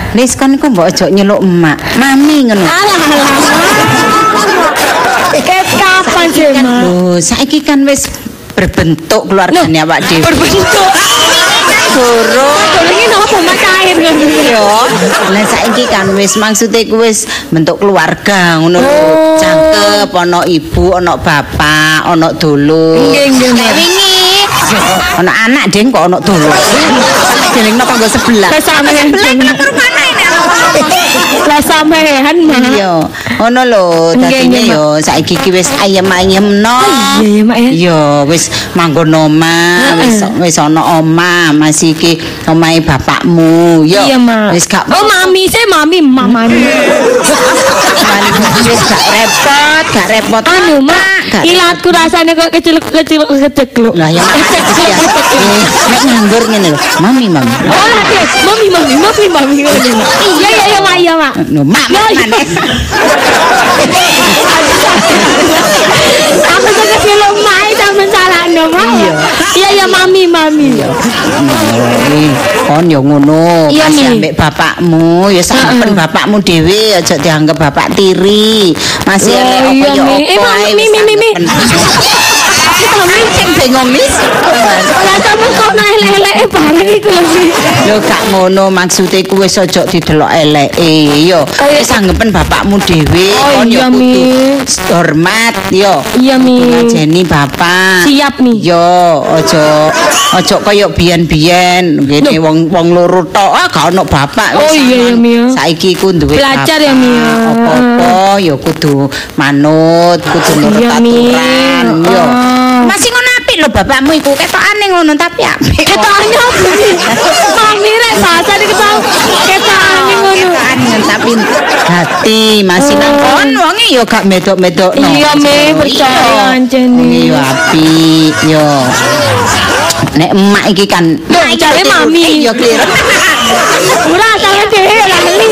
Lis kon iku mbok ojo nyeluk emak. Mami ngono. Kapan sih, Mak? Loh, saiki kan wis berbentuk keluargane awak dhewe. Berbentuk. Durung Ini nopo Mak cair ngono. yo. Lah saiki kan wis maksude ku wis bentuk keluarga ngono lho. Cangkep ana ibu, ana bapak, ana dulur. Nggih. Wingi ana anak ding kok ana dulur. Delingno kanggo sebelah. Lah sampeyan Lah sampean Mak. Iya, ngono lho. Dadine yo saiki ki wis ayem-ayemno. Iya, Mak ya. Yo wis manggon omah, wis ana omah, masih iki omahe bapakmu. Yo. Iya, Mak. Wis gak Oh, mami, mamani. wis gak repot. Anu, Mak. Ilatku rasanya kok kecil-kecil kecekluk. Lah ya nek nganggur ngene lho. Mami. Oh, mami. Iya, Mak. No, mak maneh. Aku suka film Mak sampe salahno, Mak. Iya, mami. Kon yo ngono. Iya, Masih Mi. ambek bapakmu, ya sampean bapakmu dhewe aja dianggap bapak tiri. Masih Oh, elek iya, apa yo Mi. apa ae. Mi. Mami sing bingung mis. Lah sampe kok elek-elek bareng iku lho, Mi. Lho gak ngono maksude ku wis aja didelok eleke yo. Wis anggepen bapakmu dhewe Oh, kon yo iya, kudu Mi. hormat yo. Iya, Mi. Ngajeni bapak. Siap, Mi. Yo, aja kaya biyen-biyen ngene wong loro tok gak ono bapak. Oh, iya, Mi. Saiki ku duwe Belajar bapak. ya, Mi. Apa-apa ya kudu manut, kudu nurut Iya, Mi. aturan yo. Oh. Masih ngono apik lho bapakmu iku ketokane ngono tapi apik. Ketokane apa sih? Mami rek bahasa iki tau ketokane ngono. Ketokane tapi hati masih nang kon wonge ya gak medok-medok. Iya, Mi, percaya anjene. Iya apik yo. Nek emak iki kan jare mami. Yo klir. Ora sampe dhewe ora ngeli.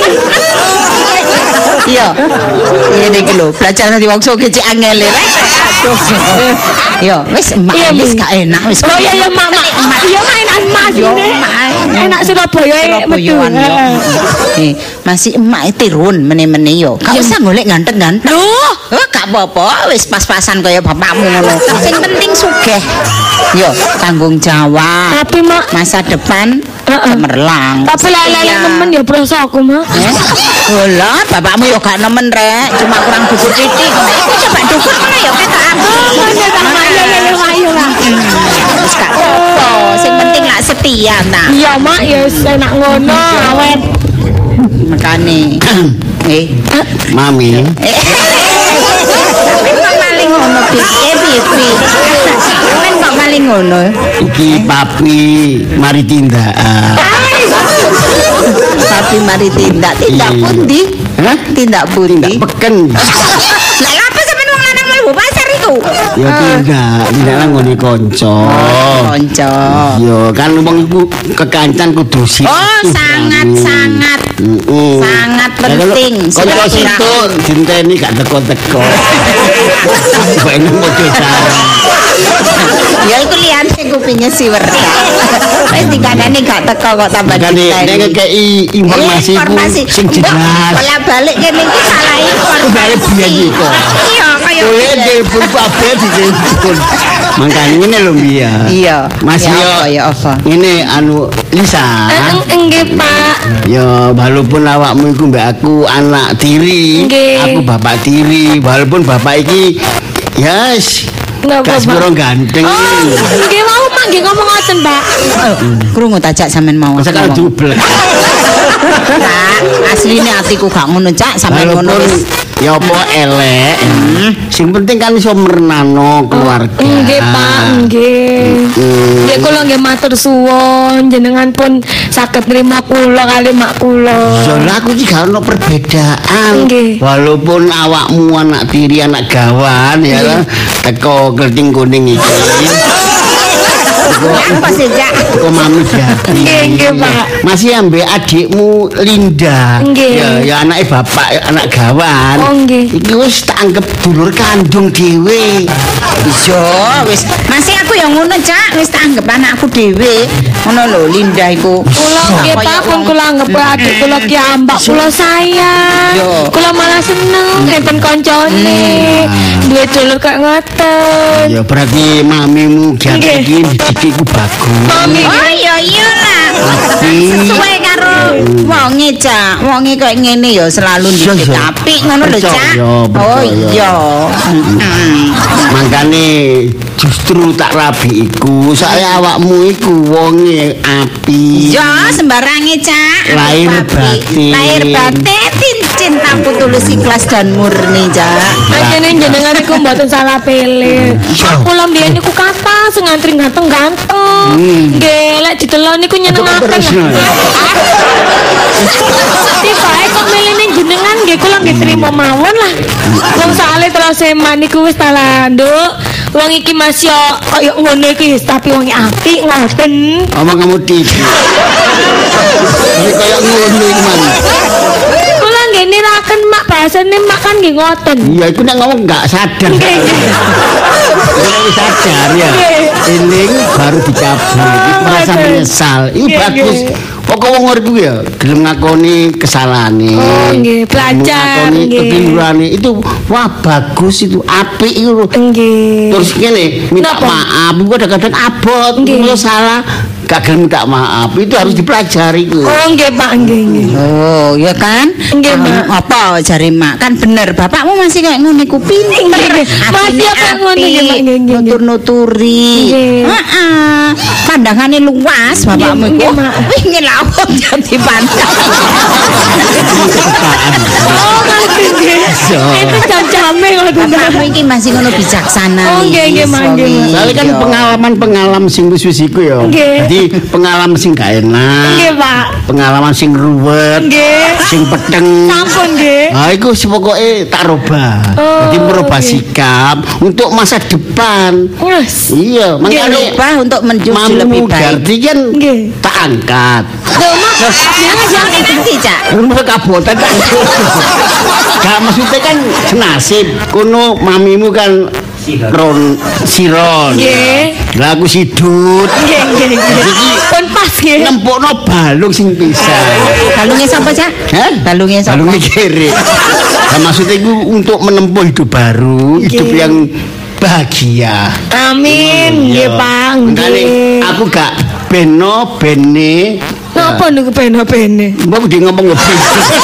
Iya. Ini iki lho, belajar nanti wong sok kecik angel rek. Aduh. Yo, wis emak Iya, wis Mi. gak enak wis. Oh iya, Mak. Iya, enak Mas. Yo, emak. Enak Surabaya metu. Surabayaan yo. Masih emak tirun meneh-meneh yo. Gak usah golek ganteng-ganteng. Loh, Gak apa-apa, wis pas-pasan kaya bapakmu ngono. Sing penting sugih. Yo, tanggung jawab. tapi Mak, Masa depan Heeh. cemerlang. tapi lele nemen ya proso aku, Mak. Lah, bapakmu yo gak nemen rek, cuma kurang dukur titik. Iku coba dukur ngono yo ketok aku. Ayo lah. Wis gak apa, sing penting lak setia ta. Iya, Mak, ya wis enak ngono, awet. Makane. Mami, Sampeyan kok maling ngono, piye? Sampeyan kok maling ngono? iki papi mari tindakan. Tapi mari tindak pundi? Hah? Tindak pundi? Peken. Lah apa sampeyan wong lanang mlebu pasar iku? Ya tindak nang ngene kanca. Kanca. Yo kan wong iku kekancan kudu sih. Oh, sangat penting. Kanca situ dinteni gak teko-teko. Kok ini mau Ya iku liyan sing kupinge siwer. Wis dikandani gak teko kok tambah Kan nek ngekeki informasi ku sing jelas. Pola balik kene iki salah informasi. Balik biyen iku. Iya, kaya Kowe telepon kabeh ditelepon. Mangkane ngene lho Mbia. Iya. Mas Ya apa? Ini anu Lisa. Nggih, Pak. Ya walaupun awakmu iku mbak aku anak tiri, Nggih. aku bapak tiri, walaupun bapak iki yes, Napa, gak Pak? sepuro ganteng. Oh, nggih mau Mak nggih ngomong ngoten, Pak. Krungu tajak sampean mau. Masa kalau dublek. Cak, asline atiku gak ngono, Cak, sampean ngono Walaupun wis. ya apa elek, sing penting kan iso merenano keluarga. Nggih, Pak, nggih. Nggih kula nggih matur suwun jenengan pun saged nrimo kula kali mak kula. Soalnya aku iki gak ono perbedaan. Nggih. Walaupun awakmu anak tiri, anak gawan ya, teko kelting kuning iki. Apa sih, Cak? Kok mami Jati. Nggih, Pak. Masih ambek adikmu Linda. Nggih. Ya anake bapak, anak gawan. Oh, nggih. Iki wis tak anggap dulur kandung dhewe. Iya, wis. Masih aku yang ngono, Cak. Wis tak anggap anakku dhewe. Ngono lho Linda iku. Kula nggih Pak, pun kula anggap adik kula ki ambak kula sayang. Yo. Kula malah seneng enten koncone. Duwe dulur kok ngoten. Ya berarti mamimu Jati Nggih. iki didikku bagus. Mami. Oh iya lah. Sesuai karo wonge, Cak. Wonge kok ngene ya selalu didik Iya. apik ngono lho, Cak. Percaya, Oh percaya. iya. Makane justru tak rabi iku saya awakmu iku wonge api. Ya sembarange, Cak. Lahir Papi. batin. Lahir batin cintaku tulus ikhlas dan murni, Cak. Ajene jenengan iku mboten salah pilih. Kula mbiyen niku kata sing ngantri ganteng-ganteng. Nggih, lek didelok niku nyenengaken. Terus, Tibae kok milih ning jenengan nggih kula nggih trimo mawon lah. Wong soalé terus eman niku wis talanduk. Wong iki Mas yo koyo ngono iki tapi wong apik ngoten. omong kamu tidur. Ini kayak ngono iki, Man. Kula nggih niraken mak bahasane mak kan nggih ngoten. Iya, iku nek ngomong enggak sadar. Nggih. Kalau sadar ya. Eling baru dicabut. Iki merasa betul. menyesal. Ini Nggih, bagus. nggih. Pokok wong urip ya gelem ngakoni kesalahane. Oh, nggih, belajar, Ngakoni nggih. kekeliruane itu wah bagus itu, apik itu lho. Nggih. Terus gini, minta Napa? maaf, itu kadang-kadang abot, Nggih. kalau salah, gak gelem minta maaf, itu harus dipelajari itu. Oh nggih Pak, nggih nggih. Oh, ya kan? Nggih, Mak. Apa jari Mak? Kan bener, bapakmu masih kayak ngono iku pinter. Nggih, masih kayak ngono, nggih, Mak, nggih, nggih. Nutur-nuturi. Nggih. Heeh. Pandangane luas bapakmu Nggih, iku. Mak. Pengin laut jadi pandang. Oh nggih nggih. Itu jam-jame ngoten. Bapakmu iki masih ngono bijaksana. Oh, nggih, nggih, Mak, nggih, Mak. Soalnya kan pengalaman-pengalaman sing wis-wis iku ya. Nggih. Jadi pengalaman sing gak enak. Nggih Pak. Pengalaman sing ruwet, Nggih. sing peteng. Sampun nggih. Nah, itu pokoknya tak robah. Oh, Jadi merubah oke. sikap untuk masa depan. Wes. Iya, Nggih, makanya rubah untuk menuju lebih Mamu baik. Gardi kan Nggih. tak angkat. Loh Mak, jangan Nanti, Cak. Rumah kabotan tak. Gak maksudnya kan senasib. Kuno mamimu kan siron. Nggih. Lah aku sidut. Nggih nggih nggih. Pun pas nggih. Nempokno balung sing pisah. Balungnya sapa, Cak? Hah? Balungnya sapa? Balungnya kiri. Nah, maksudnya itu untuk menempuh hidup baru, hidup Nggih. yang bahagia. Amin, nggih Pak, Makanya nggih. aku gak bene. Napa niku bene-bene? Mbak dia ngomong ngebene.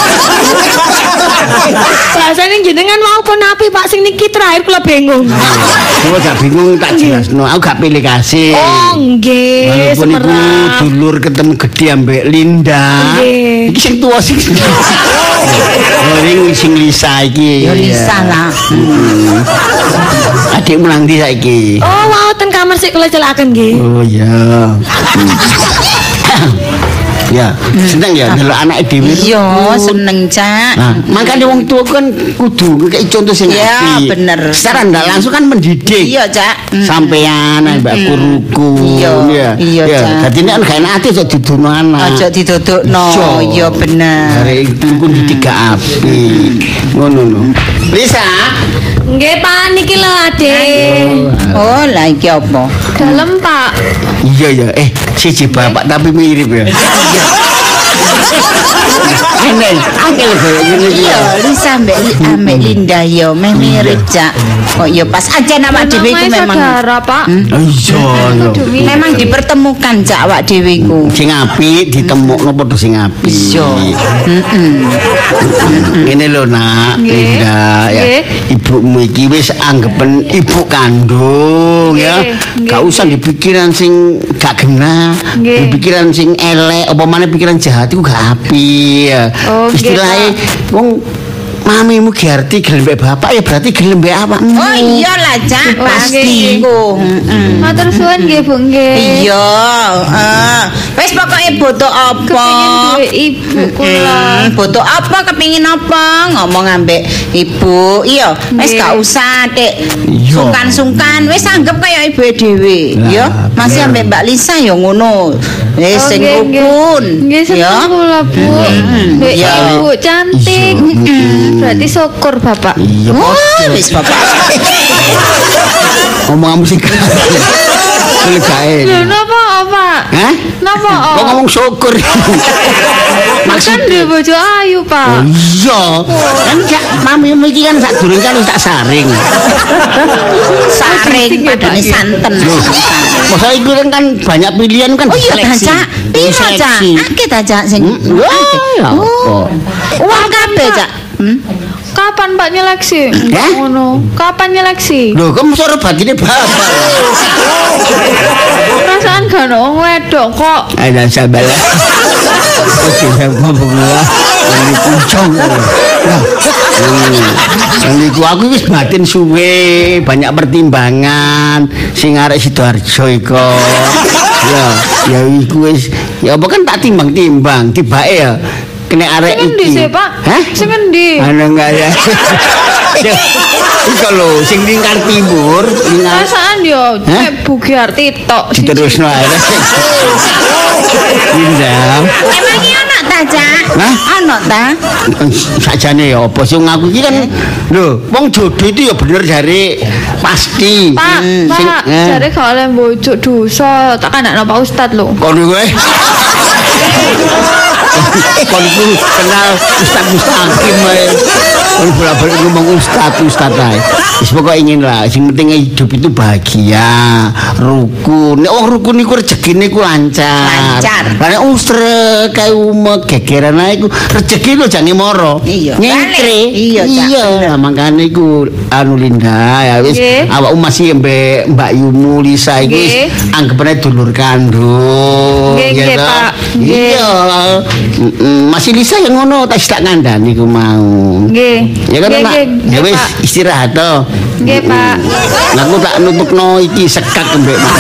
Rasane jenengan mau pun api Pak sing niki terakhir kula bingung. Gua gak bingung tak jelasno. Aku gak pilih kasih. Oh, nggih, Walaupun iku semerap. dulur ketemu gede ambek Linda. Nggih. Iki sing tuwa sing. Oh, ini sing Lisa iki. Ya Lisa lah. Adikmu nang ndi saiki? Oh, wow, ten kamar sik kula celakaken nggih. Oh iya. Ya, seneng ya delok anake dhewe. Iya, seneng, Cak. Nah, makanya wong tua kan kudu kayak contoh sing Iya, apik. bener. Secara ndak langsung kan mendidik. Iya, Cak. Sampean mbak guruku. Iya, iya, Cak. Dadi nek gak enak ati aja didono anak. Aja didodokno. Iya bener. Dari iku didik gak apik. Ngono lho. Lisa. Nggih Pak, niki lho Adik. Oh, lah iki apa? Dalem Pak. Iya ya, siji bapak tapi mirip ya. Aneh, angel kayak gini Iya, ya. Lisa ambek Linda yo mirip, Cak. Kok yo pas aja nama dhewe iku memang saudara Pak. Iya, iya. memang dipertemukan, Cak, awak dhewe iku. Sing apik ditemukno padha sing apik. Iya. Ngene lho nak, Nggih. Linda ya. Nggih. Ibumu iki wis anggapen ibu kandung ya. Nggih. Gak usah dipikiran sing gak genah, Nggih. dipikiran sing elek apa maneh pikiran jahat iku gak apik ya. Oh, nggih, Istilahnya wong mamimu Giarti gelem mbek bapak ya berarti gelem mbek awakmu. Oh iyalah Cak, pasti ku. Matur suwun nggih Bu nggih. Iya, wis pokoke butuh apa? Kepengin duwe ibu kula. Butuh apa kepengin apa? Ngomong ambek ibu. Iya, wis gak usah Dik. Iya. Sungkan-sungkan wis anggap kaya ibu dhewe, ya. Masih ambek Mbak Lisa ya ngono. Wis sing rukun. Nggih seneng kula Bu. Duwe Iya. ibu cantik. Berarti syukur Bapak. Iya, Wah, wis bapak. ngomong sing boleh gae. Lho napa Pak? Hah? Napa? Kok ngomong syukur? Makan duwe bojo ayu Pak. Iya. Kan gak mamimu iki kan sak durung kan wis tak saring. Saring padane santen. Masa iku kan banyak pilihan kan. Oh iya ta, Cak. Piro Cak? Akeh ta Cak sing. Ya. Oh. Uang kabeh Cak. Kapan Pak nyeleksi? Hah? Ngono. Kapan nyeleksi? Lho, kok mesti batine bapak. Perasaan gak ono wong wedok kok. Ada sabar. Oke, saya ngomong lah. Ini puncong. Yang iku aku wis batin suwe, banyak pertimbangan. Sing arek Sidoarjo iku. Ya iku wis ya apa kan tak timbang-timbang, tibake ya. Kene arek Sing endi iki. sih, Pak? Hah? Sing endi? Ana enggak ya? Iku lho sing lingkar timur, lingkar Perasaan yo Hah? Bu Giarti tok. diterusno ae. Indah. Emang iki ana ta Cak? Hah? Ana ta? Sajane ya apa sing ngaku iki kan lho wong jodoh itu ya bener jare pasti. Pak, Sing Pak, jare gak oleh mbojuk dosa, tak kandakno Pak Ustad lho. kono kowe. Kon iku kenal Ustaz Mustaqim ae. Kon bolak-balik ngomong Ustaz ae. Wis pokoke ingin lah, sing penting hidup itu bahagia, rukun. Nek wong rukun iku rezekine ku lancar. Lancar. Lah nek usrek kae umek gegeran ae iku rezeki lho jane moro. Iya. Nyengkre. Iya, Cak. Iya, makane iku anu Linda ya wis Nggih. awakmu masih mbek Mbak Yumu Lisa iku wis Nggih. anggapane dulur kandung. Nggih, nggih, toh? Pak. Nggih. Iya. Masih Lisa yang ngono tak ngandani ku mau. Nggih. Ya kan, Nggih, Mak? nggih, Ya nggih, wis Pak. istirahat toh. Nggih, Pak. Aku tak nutupno iki sekak mbek Mak.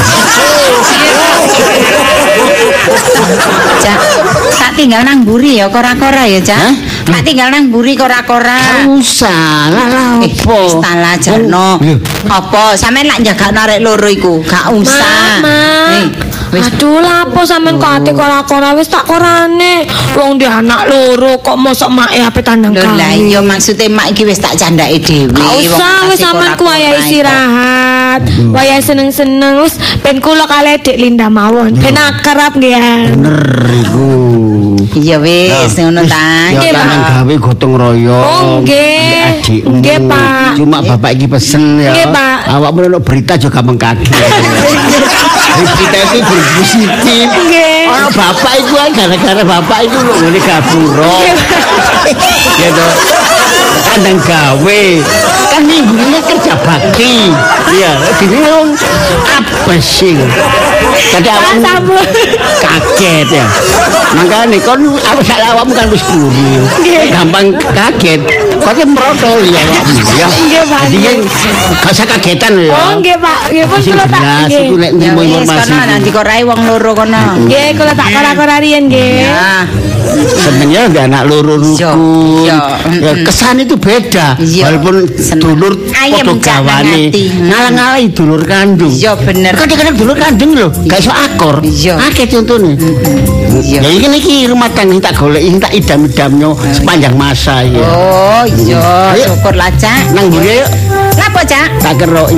Cak, tak tinggal nang mburi ya kora-kora ya Cak. Hah? Tak tinggal nang mburi kora-kora. Usah lah Eh, apa? wis ta lah Jarno. Lho. Apa sampean lak jaga narek loro iku? Gak usah. Mama. Wis Aduh lapo sampean kok ate kora-kora wis tak korane. Wong dia anak loro kok mosok make ape tandang lho lah kali. iya maksude mak iki wis tak candake dhewe. Gak usah wis sampean ku wayahe istirahat. Wayahe seneng-seneng wis ben kula kalih Dik Linda mawon. Ben akrab nggih ya. Bener iku. Iya wis ngono ta. Nggih, Tangan Pak. gawe gotong royong. Oh, nggih. Adikmu. Nggih, Pak. Cuma bapak iki pesen ya. Nggih, Pak. Awakmu nek berita juga mengkaget. Berita itu berpositif. Nggih. Orang bapak itu kan gara-gara bapak itu lho ngene gapura. Ya toh. Kandang gawe. Kan minggu ini kerja bakti. Iya, dene wong apa sih? Tadi awakmu kaget ya. Makanya kon awakmu kan wis guru. Gampang kaget. Kok merotol ya awakmu ya. Nggih, Pak. Jadi kan gak usah kagetan ya. Oh nggih Pak, nggih pun Sing kula tak jelas nggih. iku nek Ya nrimo wis informasi. kono nanti korai wong loro kono. Nggih kula tak kora-kora riyen nggih. Ya. Senengnya ada anak loro rukun. Iya. Ya, kesan itu beda. Iya. Walaupun Seneng. dulur Ayem, padha Cak, nang gawane. ati. Ngalang-alangi dulur kandung. Iya bener. Kadang-kadang dulur kandung lho, gak iso akor. Iya. Akeh contone. Iya. Ya iki rumah tangga tak goleki tak idam-idamnya sepanjang masa ya. Oh iya, Ayo. syukur lah Cak. Nang mburi yuk Lapo Cak? tak keroki.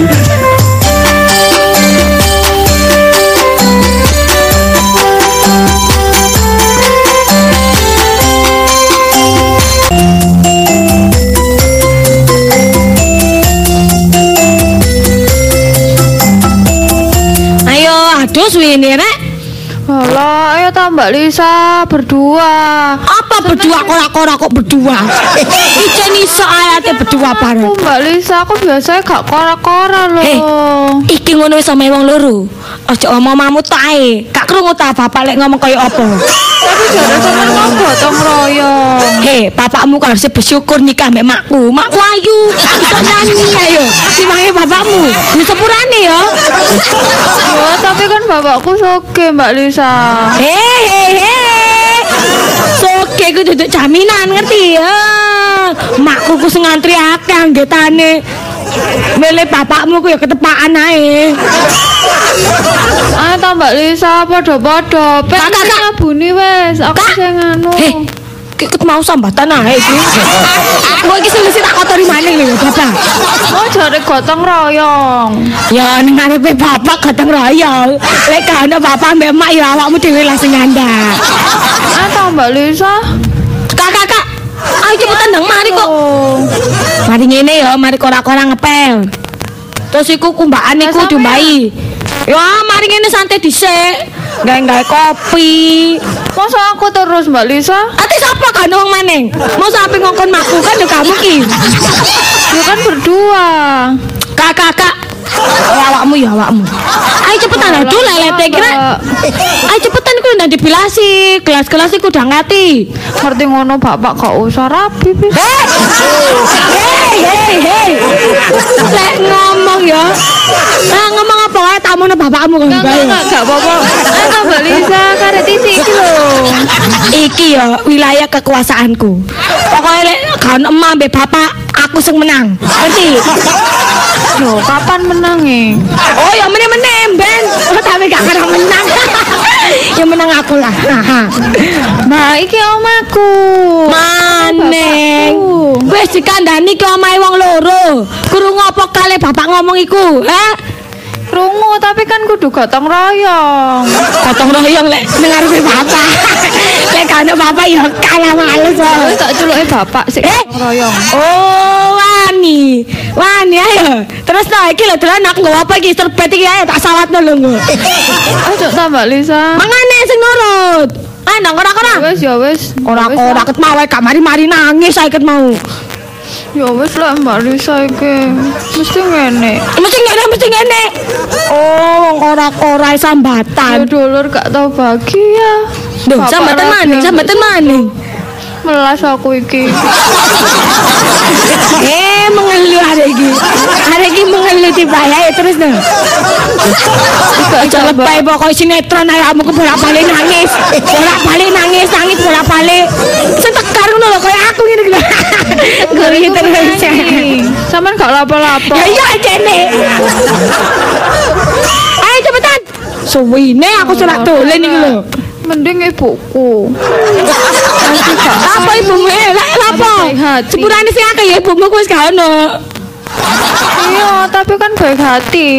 Ayo aduh suwene rek. Alah, ayo ta Mbak Lisa berdua. Apa berdua kora-kora kok berdua? Ijen iso ayate berdua bareng. Aku Mbak Lisa, aku biasanya gak kora-kora loh. Iki ngono wis sama wong loro. Ojo ngomong mamut tae. Gak krungu ta bapak lek ngomong kaya apa. Tapi jare sampean gotong royong. Hei, bapakmu kan harus bersyukur nikah mbek makku. Makku ayu, iso nyanyi ayo. Timbange bapakmu. Wis sepurane ya. Ya, tapi kan bapakku soge, Mbak Lisa. Hei. Soge ku duduk jaminan ngerti ya. Makku ku sing ngantri akeh anggotane. Milih bapakmu ku ya ketepaan ae. Ayo ta Mbak Lisa padha-padha. Kakak. Buni wis, aku sing anu. Ikut mau sambatan ae iki. Kok iki sing tak kotori maning lho, Bapak. Oh, jare gotong royong. Ya ning ngarepe bapak gotong royong. Lek kana bapak mbek mak ya awakmu dhewe lah sing ngandhak. Ayo ta Mbak Lisa. Kakak. Ayo cepetan ndang mari kok. Mari ngene ya, mari kora-kora ngepel. Terus iku kumbakane ku diombahi. Ya mari ngene santai dhisik. Gawe kopi. Masa aku terus Mbak Lisa? Ati sapa kan wong maning? Mau sampe ngongkon makku kan ya kamu ki. Ya kan berdua. Kakak. Awakmu ya awakmu. Ayo cepetan aduh lelete kira. Ayo cepetan ku ndang dibilasi. Gelas-gelas iku udah ngati. Ngerti ngono bapak gak usah rapi bis. Hei. Lek ngomong ya. Nah ngomong apa wae tamu bapakmu kan bae. Gak apa-apa. Ayo Mbak Lisa karek titik iki lho. Iki ya wilayah kekuasaanku. Pokoknya lek kan emak mbek bapak aku sing menang. Ngerti? Loh, kapan menangi? Oh ya menang Ben. Oh, tapi gak kena menang. Ya menang aku lah. Mbak iki omaku. Maneng. Wis dikandani ki omahe wong loro. Krungu apa kali bapak ngomong iku? Krungu tapi kan kudu gotong royong. Gotong royong lek ning ngarepe bapak. Lek kana bapak ya kalah males. Wis tak culuke bapak sik gotong royong. Oh, wani ayo. Terus no iki lho dolan aku nggawa apa iki serbet iki ayo tak sawatno lho nggo. Ayo ta Mbak Lisa. Mangane sing nurut. Ah nang ora-ora. Ya wis. Ora ket mau wae gak mari-mari nangis saya ket mau. Ya wis lah Mbak Lisa iki. Mesti ngene. Mesti ngene. Oh, wong ora-ora Ya sambatan. dulur gak tau bahagia. Duh, sambatan maning. Melas aku iki. Mengeluh hari iki mengeluh dibayar terus dong. Aja lebay pokok sinetron ae kamu bolak-balik nangis bolak-balik. Sing tekar ngono lho kaya aku ngene iki. Gori terus. Sampeyan gak lapo-lapo. Ya iya kene. Ayo cepetan. Suwine aku selak dolen iki lho. Mending ibuku. Apa ibumu? Lapo? Sepurane sing akeh ya ibumu wis gak ono. Iya, tapi kan baik hati.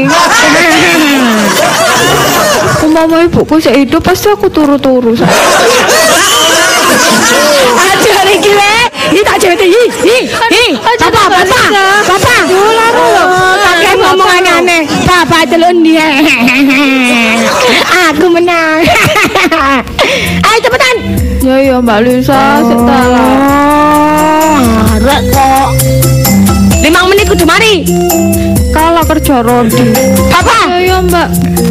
Umpama ibuku sik hidup pasti aku turu-turu. Aduh iki le. Iki tak jete iki. Bapak. Kakek ngomong aneh. Bapak telun dia. Aku menang. Ayo cepetan. Ya Mbak Lisa, sik ta lah. Arek kok. 5 menit kudu mari. Kalah kerja Rodi. Apa? Ya Mbak.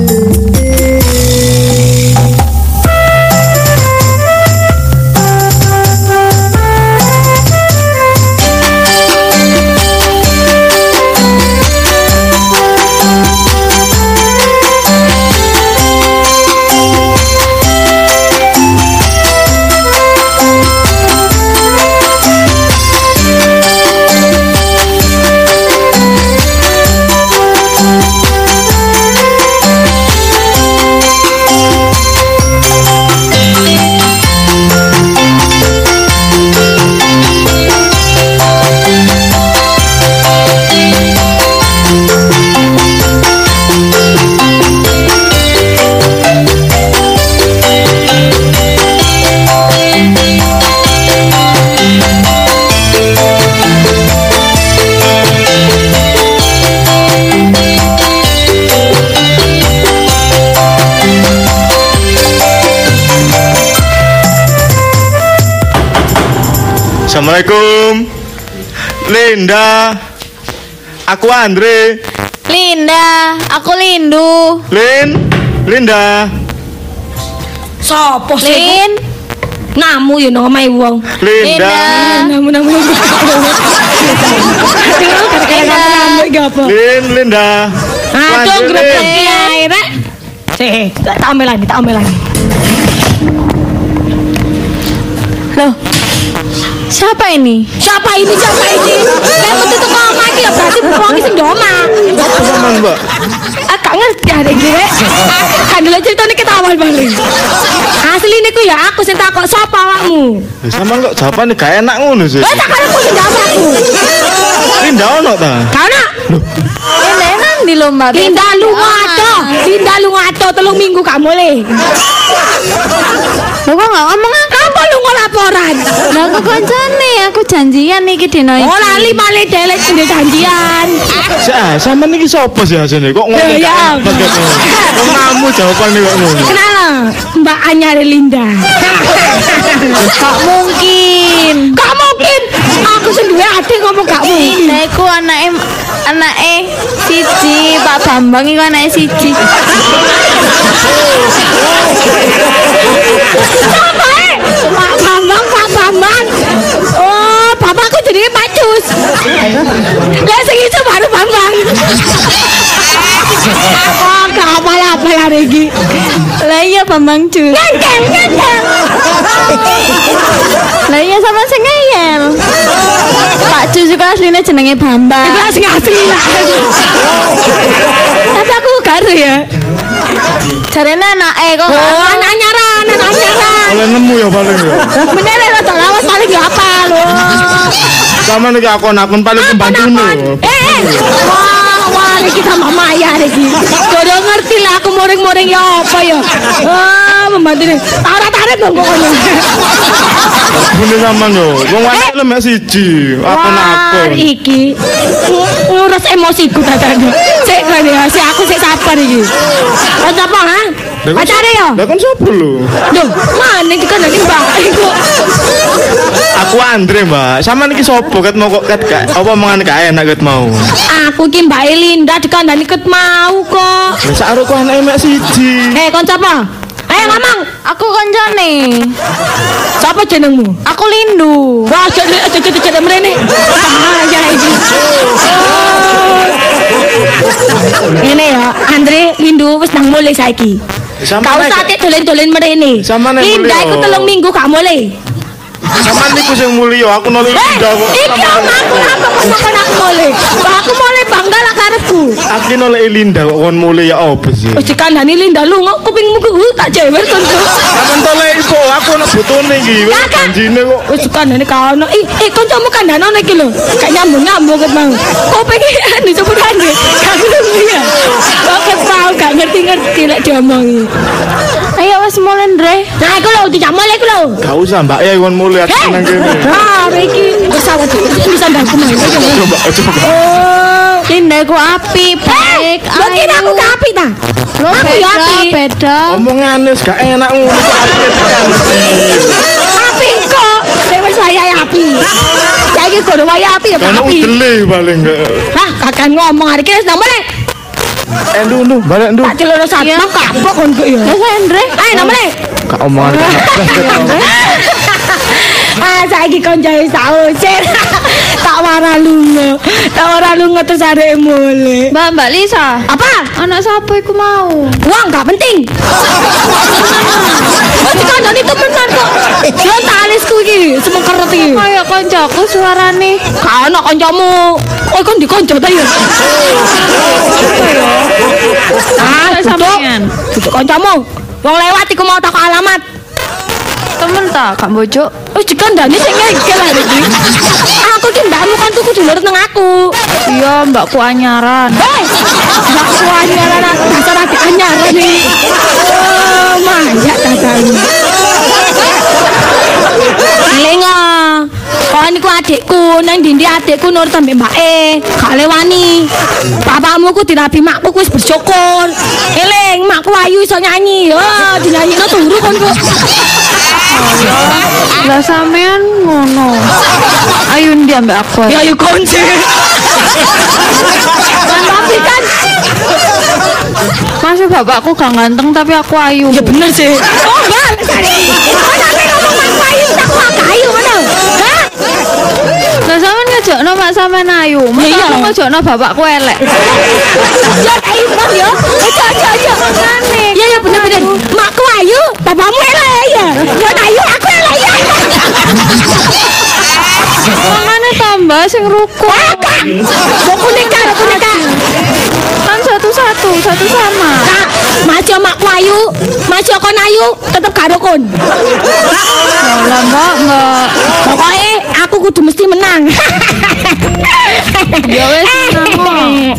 Assalamualaikum. Linda. Aku Andre. Linda, aku Lindu. Lin. Linda. Sopo sih? Lin. Namu ya nomai wong. Linda. Namu. Tinggal kadang-kadang namu iki apa? Linda. Aduh, Lanjut, grebek Lin. ae rek. Sih, tak ambil lagi. Loh. Siapa ini? Siapa ini? Lah metu teko omah iki ya berarti wong sing ndoma. Apa sampean, Mbak? Gak ngerti ada gue. Kan dulu ceritanya kita awal balik. Asli niku ya aku sing takok sapa awakmu. Sampean kok jawabannya gak enak ngono sih. Lah tak karo aku sing jawab aku. Linda ono ta? Karena Ini nang di lomba. Linda lunga ato 3 minggu gak mulai. Lo kok gak ngomong ah? Apa lu laporan? Lah aku koncone, aku janjian iki dino iki. Oh lali balik delek sing janjian. Sampean iki sapa sih asline? Kok ngomong Ya, gak enak? Kok kamu jawabannya kok ngono? Kenal Mbak Anyar Linda. Gak mungkin. Gak mungkin. Aku sendiri hati ngomong gak mungkin. Lah iku anake siji, Pak Bambang iku anake siji. Siapa Pak Bambang. Oh, bapakku jadi Pak Cus. Lah sing itu baru Bambang. Oh, gak apa-apa hari ini. Lah iya Bambang Jus. Ngenteng. Lah iya sama sing ngeyel. Pak Jus juga aslinya jenenge Bambang. Itu asli lah. Tapi aku karo ya. Jarene anake kok. Oh, anak nyaran. Oleh nemu ya paling ya. Bener ya, tak lawas paling gak apa loh. Sampean iki akun-akun paling pembantune. Wah, ini sama Maya iki. Udah ngerti lah aku moring-moring ya apa ya. Membantu nih. Tarat-tarat dong pokoknya. Bune sampean yo. Wong wae lemek siji. Akun-akun. Iki ngurus emosiku tadi. Cek kan ya, si aku sik sabar iki. Kok apa ha? Pacare ya? Lah kan sapa lho? Duh, mana iki kan lagi Mbak iku. Aku Andre, Mbak. Sampean iki sapa ket mau kok ket gak apa omongan gak enak ket mau. Aku ki Mbak Elinda dikandani ket mau kok. Lah sak arek anake mek siji. Kon sapa? Ayo ngomong. Aku koncone. Sapa jenengmu? Aku Lindu. Wah, jadi mrene. Ya iki. Ini ya, Andre Lindu wis nang mulai saiki. Kau sate dolen-dolen mrene. Sampeyan Linda mulai, iku oh. 3 minggu gak mulai. Sampean niku sing mulya, aku nolak Linda kok. Iki aku apa kok sampean aku mulai. Aku mulai bangga lah karepku. Aku nolak Linda kok kon mulya ya apa sih? Wis dikandani Linda lu kok kupingmu ku tak jewer kon. Sampeyan tolek iku, aku ana butune iki. Wis janjine kok. Wis dikandani kaono. Kancamu kandhanono iki lho. Kayak nyambung-nyambung ket mau. Kuping iki disebutane. Gak ngerti ya. Kok tau gak ngerti-ngerti lek diomongi. Ayo wis mulai Ndre. Nah, iku lho dijak mulai iku lho. Gak usah, Mbak. Ya kon mulya aku nang kene. Iki pesawat iki sandalku mah. Coba. Oh, Linda ku api, baik. Mbak kira aku gak apik ta? Lo Aku ya beda, apik. beda. Omongane wis gak enak ngono kok Apik kok. Nek wis wayahe apik. Saiki kudu wayahe apik ya Ono apik. udele paling gak. Hah, kakak ngomong hari iki wis nang mulai. Ndu, balik ndu. Tak celana satpam kapok kon kok ya. Lah Ndre. Ayo nang mulai. Gak omongan Saiki kon jae sausir. Tak wara lunga terus arek mulai. Mbak Lisa. Apa? Anak sapa iku mau? Uang gak penting. Wis kandhani temenan kok. Yo talisku iki semengkeret iki. Kayak koncoku suarane. Gak ono kancamu. Kok kon dikonco ta ya? Sampeyan. Duduk kancamu. Wong lewat iku mau takok alamat. Temen ta, Kak Bojo. Wis dikandani sing ngegel hari iki. Aku ki mbakmu kan tuku dulur nang aku. Iya, mbakku anyaran. Hei, mbakku anyaran dasar adik anyaran iki. Oh, manjak dadane. Lengo. Kok niku adikku, nang ndi adikku nurut ambek mbake. Gak lewani. Bapakmu ku dirabi makku ku wis bersyukur. Eling, makku ayu iso nyanyi. Oh, dinyanyino turu kon kok. Lah sampean ngono. Ayo ndi ambek aku. Ya ayo kunci. Kan tapi kan Masih bapakku gak ganteng tapi aku ayu. Ya bener sih. Oh, Mbak. Sampe ngomong aku ayu, aku gak ayu mana? Hah? Lah sampean ngejokno mak sampean ayu. Masa aku ngejokno bapakku elek. Ya ayu Bang ya. Aja Makane. Ya bener-bener. Makku ayu, bapakmu elek ya. Ya ayu, aku elek ya. Makane tambah sing rukun. Aku nikah. Kan satu sama. Kak, masih makku ayu, masih kon ayu, tetep gak rukun. Lah enggak. Pokoknya aku kudu mesti menang. Ya wes menang.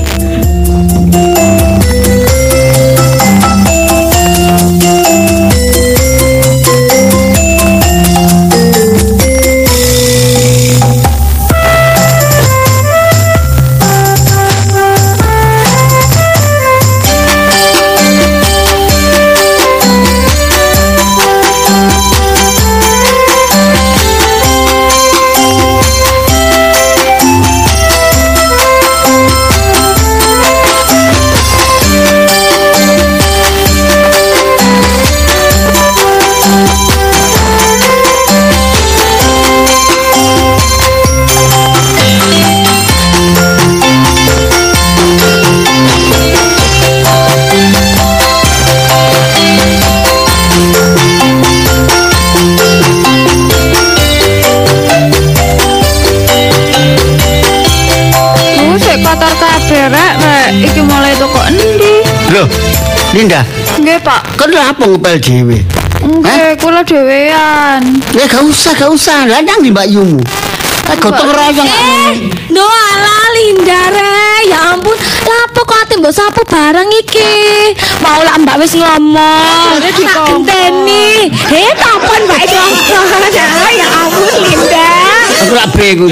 Kotor kabeh rek. Iki mulai toko endi? Loh, Linda, Nggih, Pak. kan apa ngepel dhewe? Nggih, kula dhewean. Ya gak usah. Lah nang di Mbak Yumu. Gotong royong. No ala Linda re, ya ampun. Lapo kok ate mbok sapu barang iki? Mau lah Mbak wis ngomong. Jadi Tak dikompon. genteni. Kapan Mbak ngomong? Ya ampun Linda. Aku lak bingung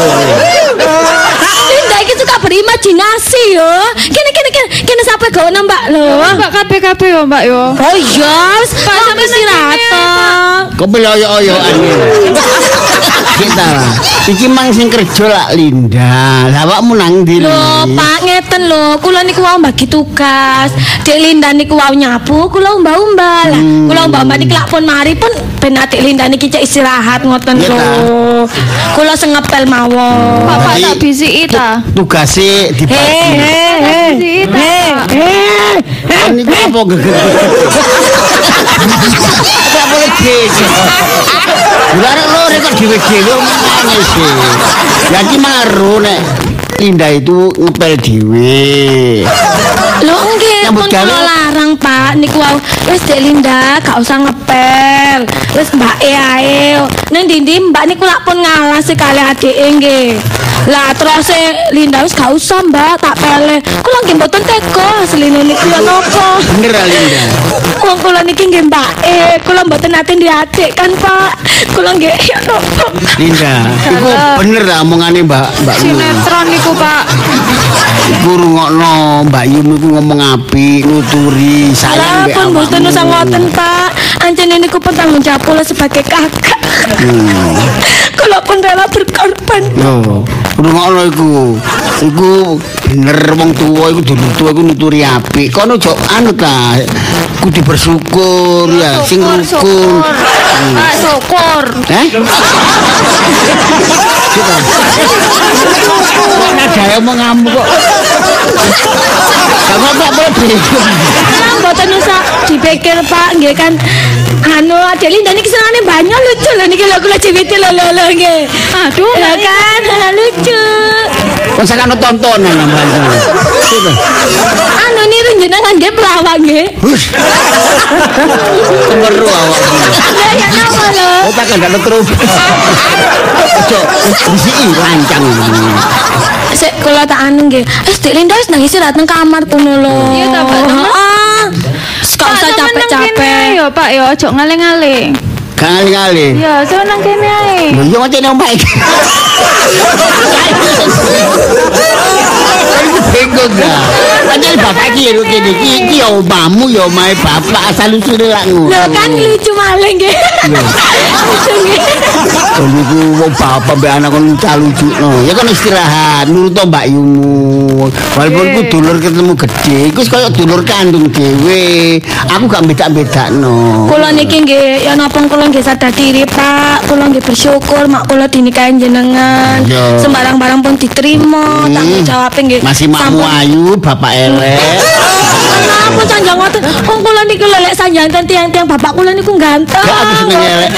Linda iki suka berimajinasi yo. Kene sampe gono Mbak lho. Mbak kabeh yo, Mbak yo. Oh iya, Pak sampe istirahat. Kok beloyo-oyoan kita lah. Iki mang sing kerja lak Linda. Lah awakmu nang ndi? Lho, Pak ngeten lho, kula niku wau bagi tugas. Dek Linda niku wau nyapu, kula umbah-umbah. Lah, kula umbah-umbah niki lak pun mari pun ben Dek Linda niki cek istirahat ngoten Iya, lho. Kula sing ngepel mawon. Bapak Jadi- tak bisiki ta. Tugase dibagi. Bisiki ta. Ini apa geger? Tak boleh geger. Lare lore kok dhewe-dhewe omongane sih. Ya iki maru nek Linda itu ngepel dhewe. Lho nggih, Nyambut pun gawe. kula larang Pak niku wau. Wis Dek Linda gak usah ngepel. Wis mbake ae. Nang ndi Mbak niku lak pun ngalah sekali adike nggih. Lah terus Linda wis gak usah Mbak tak pele. Kula nggih mboten tega asline niku ya napa. Bener ah, Linda. Wong kula niki nggih mbake, kula mboten nate ndi adik kan Pak. Kula nggih ya napa. Linda, iku bener lah omongane Mbak Yu. Sinetron niku, Pak. Iku rungokno Mbak Yu niku ngomong apik, nuturi, sayang Lah mbek pun mboten awakmu. usah ngoten Pak. Anjene niku pun tanggung jawab kula sebagai kakak. Kula pun rela berkorban. Yo, rungokno iku. Iku bener wong tuwa iku dulu tuwa iku nuturi apik. Kono ojo anu ta. Kudu bersyukur ya, sing rukun. Pak, syukur. Coba. Kok nadae omong kok. Kamu tak boleh bingung. Mboten usah dipikir Pak, nggih kan anu Dek Linda niki senengane banyak lucu lho niki lho kula ciwiti lho nggih. Aduh, lho kan lucu. Kok sakane tontonan namanya. Coba. Anu niru jenengan nggih pelawak nggih. Hush. Kemeru awakmu. Lah ya napa lho? Oh, tak ada terus. Ojo, disiki lancang. Sik kula tak anu nggih. Dek Linda wis nang istirahat nang kamar kono lho. Iya ta, Pak, temen? Gak usah capek-capek. Ya, Pak, ya ojo ngaling-ngaling. Kali-kali. Ya, so nang kene ae. Lho yo ngene omae. Bingung dah. Padahal bapak iki kene iki yo omamu yo omahe bapak asal usule lak ngono. Lho kan lucu maling nggih. Niku wong bapak mbek anak kon lucu no. Ya kon istirahat, nurut Mbak Yumu. Walaupun ku dulur ketemu gede, iku wis koyo dulur kandung dhewe. Aku gak beda-bedakno. Kula niki nggih ya napa kula nggih sadar diri, Pak. Kula nggih bersyukur mak kula dinikahi jenengan. Sembarang barang pun diterima, tanggung jawab nggih. Masih makmu ayu, bapak elek. Kenapa sanjang ngoten? Wong kula niku lelek sanjangan tiang-tiang bapak kula niku ganteng. Gak aku seneng elek.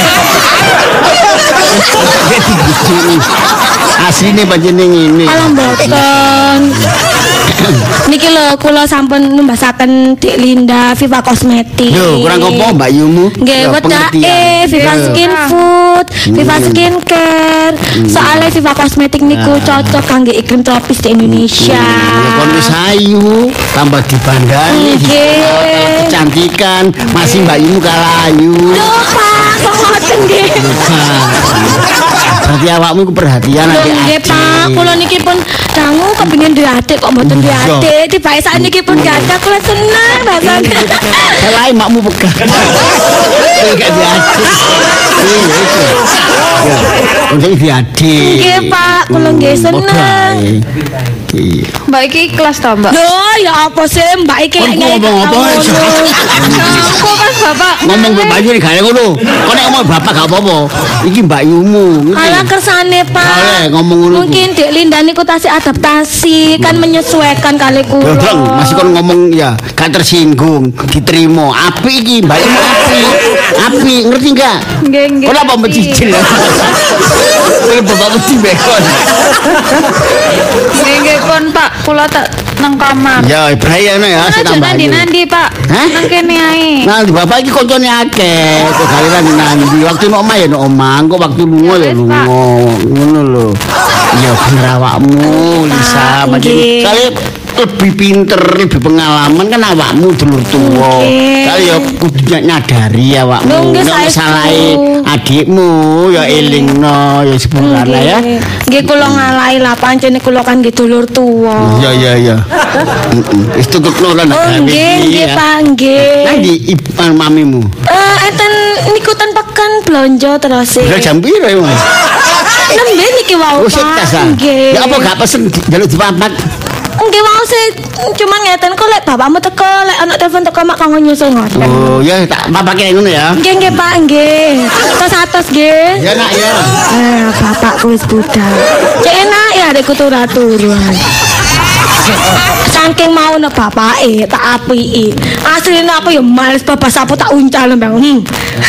Asline pancen ngene. Alam boten. Niki lho kula sampun numbasaken Dik Linda Viva Kosmetik. Yo, kurang apa Mbak Yumu? Nggih, wedake Viva Skin Food, Viva Skincare. Soalnya Viva Kosmetik niku cocok kangge iklim tropis di Indonesia. Ya kon wis ayu, tambah dibandani. Nggih. Kecantikan, masih Mbak Yumu kalah ayu. Loh, Pak, kok ngoten nggih. Berarti awakmu ku perhatian adik-adik. Nggih, Pak, kula niki pun dangu kepengin duwe adik kok mboten duwe adik. Tibake sakniki pun gadah kula seneng rasane. Selain makmu pegah. Gak diadik. Ya, untuk diadik. Nggih, Pak, kula nggih seneng. Mbak iki ikhlas ta, Mbak? Loh, ya apa sih Mbak iki lek ngomong apa? Aku kan Bapak. Ngomong Mbak Bayu nek gak ngono. Kok nek ngomong bapak gak apa-apa. Iki Mbak Yumu. Ala kersane, Pak. Kale ngomong ngono. Mungkin Dik Linda niku tasih adaptasi, kan menyesuaikan kali kula. Masih kon ngomong ya, gak tersinggung, diterima. Apik iki Mbak Yumu apik. Apik, ngerti enggak? Nggih, nggih. Kenapa mencicil? Kowe bapak mesti bekon. Nggih kon Pak, kula tak nang kamar. Ya, bahaya ya, Mana sik tambah. nandi Pak? Hah? Nang kene ae. Nah, di bapak iki koncone akeh. Kok galiran nanti waktu nek omah ya nek omah, kok waktu lunga ya lunga. Ngono lho. Ya bener awakmu, Lisa. nggih. Kali lebih pinter, lebih pengalaman kan awakmu dulur tuwa. Kali ya kudu nyadari awakmu. Nggih, Nek saya salahe adikmu ya elingno ya sepurane ya. Nggih kula ngalahi lah pancene kula kan nggih dulur tuwa. Ya. Wis tukupno lan Oh nggih Pak nggih. Nanti mamimu. Enten niku ten pekan blonjo terus. Lah jam piro ya, Mas? Nembe niki wau Oh, sik tas. Nggih. Ya apa gak pesen jaluk dipapat? Nggih wau sih cuma ngeten kok lek bapakmu teko lek ana telepon teko mak kanggo nyusul ngoten. Oh, ya tak papake ngono ya. Nggih Pak nggih. Tos nggih. Ya nak ya. Bapakku wis budal. Cek enak ya adekku turu-turuan. Saking mau nek bapake tak apiki. Asline aku ya males bapak sapu tak uncal mbang.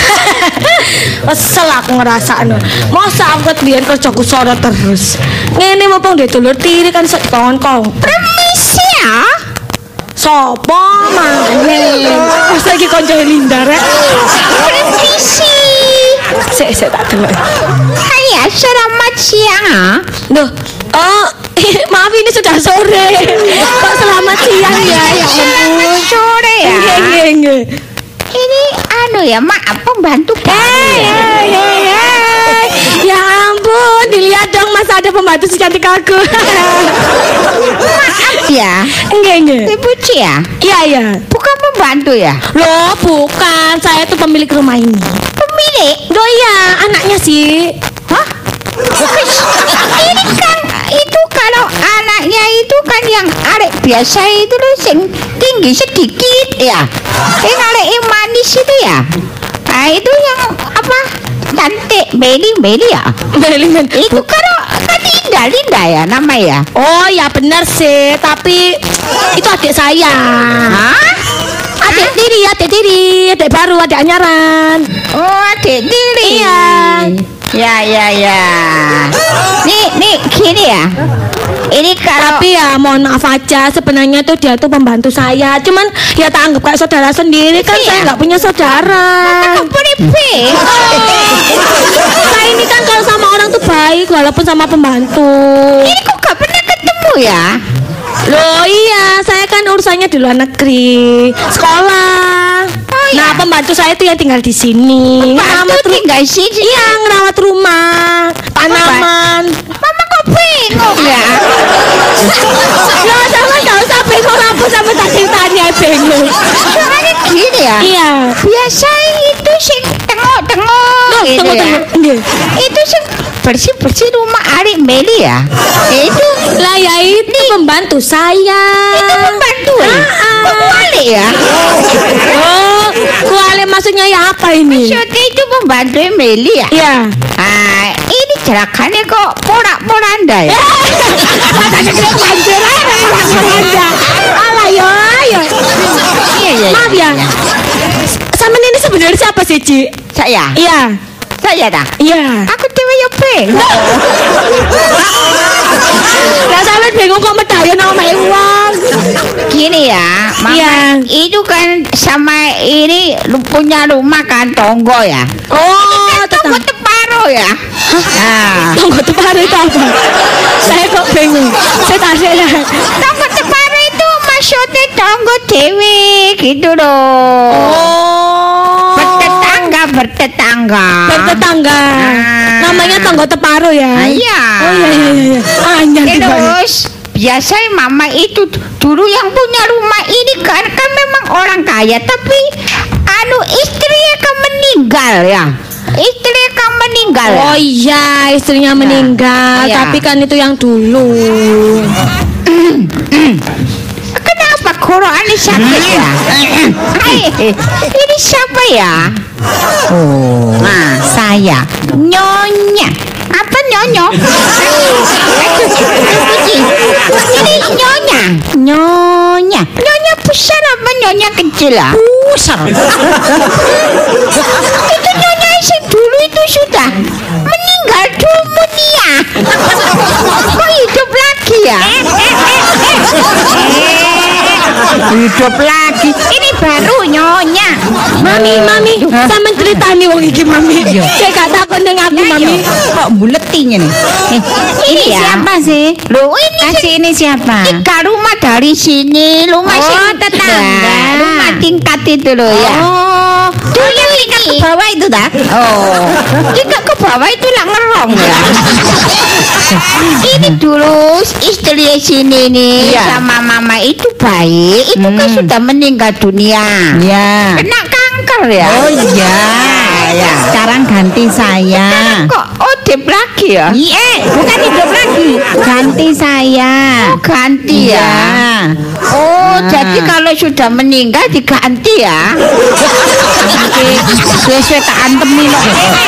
Kesel aku ngrasakno. Masa aku biyen kerjaku soro terus. Ngene mumpung dulur tiri kan sok kongkong. Permisi ya. Sopo maneh? Masa iki kanca Linda rek. Permisi. Sik tak delok. Hai, selamat siang. Duh, maaf ini sudah sore. Kok selamat siang ya? Ya ampun. Sore ya. Nggih. Ini ya maaf pembantu Ya ampun, dilihat dong Mas ada pembantu secantik aku. maaf ya. Nggih. Ibu Cia. Iya. Bukan pembantu ya? Loh, bukan. Saya tuh pemilik rumah ini. Pemilik? Loh iya, anaknya sih. Hah? Ini kan itu kalau anaknya itu kan yang arek biasa itu loh sing tinggi sedikit ya. Yang arek yang manis itu ya. Nah itu yang apa? Cantik Beli ya. Itu kan Linda ya nama ya. Oh ya benar sih, tapi itu adik saya. Hah? Adik tiri, adik baru, adik anyaran. Oh adik tiri. Iya. Ya. Nih gini ya. Ini kalau Tapi ya mohon maaf aja, sebenarnya tuh dia tuh pembantu saya. Cuman ya tak anggap kayak saudara sendiri kan, saya nggak punya saudara. Saya ini kan kalau sama orang tuh baik walaupun sama pembantu. Ini kok gak pernah ketemu ya? Loh iya, saya kan urusannya di luar negeri, sekolah. Nah pembantu saya tuh yang tinggal di sini. Pembantu tinggal sini? Iya, ngerawat rumah, tanaman. Mama kok bingung ya? Loh sama gak usah bingung, aku sama tak ceritanya bingung. Soalnya gini ya. Iya. Biasa itu sing tengok-tengok gitu ya. Itu sih bersih-bersih rumah Arik Meli ya. Itu Lah ya itu pembantu saya. itu pembantu ya. Kok kuali ya? Oh, kuali maksudnya ya apa ini? Maksudnya itu pembantu Meli ya. Iya. Ah, ini jerakannya kok porak-poranda ya. Alah ya. Iya. Maaf ya. Sama ini sebenarnya siapa sih, Ci? Saya. Iya. Saya dah. Iya. Aku dewe ya bengok. Lah sampean bingung kok medaya nama uang. Gini ya, Mama, Iya. itu kan sama ini punya rumah kan tonggo ya. Oh, Tonggo teparo ya. Nah, tunggu teparo itu apa? Saya kok bingung. Saya tanya. tonggo teparo itu maksudnya tonggo dewe gitu loh. Oh. Bertetangga. Bertetangga. Namanya tonggo teparo ya. Ah, iya. Oh iya. Anyar Terus biasa Mama itu dulu yang punya rumah ini kan memang orang kaya tapi istrinya kan meninggal ya. Istrinya kan meninggal. Oh iya, istrinya meninggal, Iya. tapi kan itu yang dulu. Kenapa koroannya sakit ya? Hai, ini siapa ya? Oh, nah saya Nyonya. Apa Nyonya? Ini Nyonya. Nyonya besar apa Nyonya kecil lah? Pusar. Itu Nyonya yang dulu itu sudah meninggal dunia. Kok hidup lagi ya? Hidup lagi. Ini baru Nyonya. Mami, sampean ceritani wong iki, Mami. Saya gak takut ning aku, Mami. Kok buletinya nih? Ini ya. Siapa sih? Loh, ini Kasih ini siapa? tiga rumah dari sini, rumah Oh, sini tetangga. rumah tingkat itu loh ya. Oh, Dulu yang tingkat ke bawah itu dah. Oh, tingkat ke bawah itu lah ngerong ya. Ini dulu istri sini nih Iya. sama mama itu baik, itu kan sudah meninggal dunia. ya. Kena kanker ya. Oh iya. Ya. Sekarang ganti saya. Kok odep lagi ya? Iya, bukan hidup lagi. Ganti saya. Oh, ganti Iya. ya. Oh, jadi kalau sudah meninggal diganti ya. Sesuai tak antemi loh.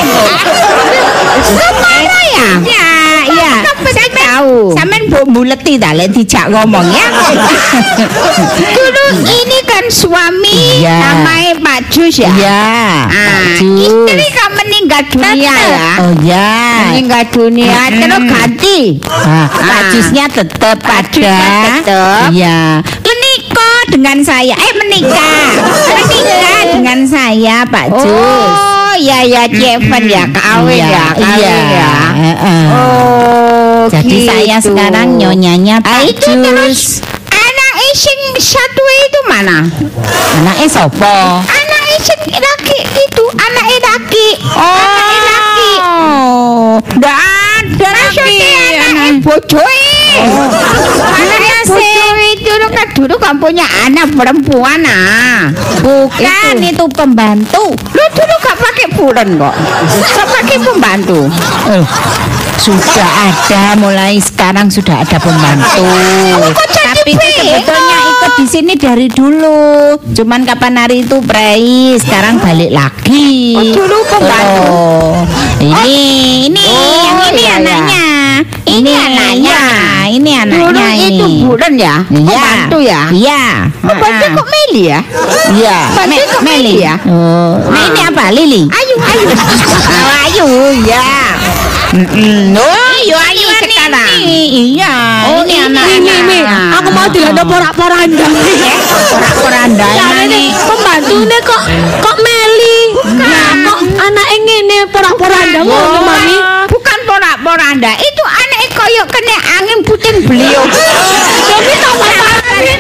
Kemana ya? Iya. Saya tahu. Sampean mbok buleti ta lek dijak ngomong ya. Dulu ini kan suami Iya. namanya Pak Jus ya. Iya. Istri kan meninggal dunia ya. Oh ya. Meninggal dunia terus ganti. Pak Jusnya tetap Jusnya ada. tetep. Iya. Menikah dengan saya. Menikah dengan saya, Pak Jus. Oh, ya Jeven ya, kawin ya, kawin ya. Heeh. Oh, Jadi gitu. saya sekarang nyonyanya Pak Itu terus Jus. anak sing satu itu mana? Anaknya sopo? Anak sing laki itu, anak laki. Anak laki. Oh, nggak ada Maksudnya anak bojoe. Anaknya bojoe itu kan dulu kan punya anak perempuan Bukan itu pembantu. Lu dulu gak pakai bulan kok. Gak pakai pembantu. Sudah ada, mulai sekarang sudah ada pembantu. Tapi itu sebetulnya ikut di sini dari dulu. Cuman kapan hari itu prei, sekarang balik lagi. Oh, dulu pembantu. Oh, ini yang ini iya, anaknya. Ini anaknya. Ini anaknya Dulu ini. itu bulan ya. Iya. Pembantu ya. Iya. Pembantu kok Meli ya? Iya. Pembantu kok Meli ya? Oh, nah ini apa? Lili? Ayu. Oh, Ayu, ya. Oh, Ayu sekarang. Iya. Oh, ini ini, anaknya. Mi, aku mau dilanda porak-poranda. Porak-poranda Ini pembantu kok Meli. Nah, kok anak ngene porak-poranda ngono, Mami. Bukan porak-poranda, itu anak koyok kena angin puting beliau. Tapi tak apa-apa.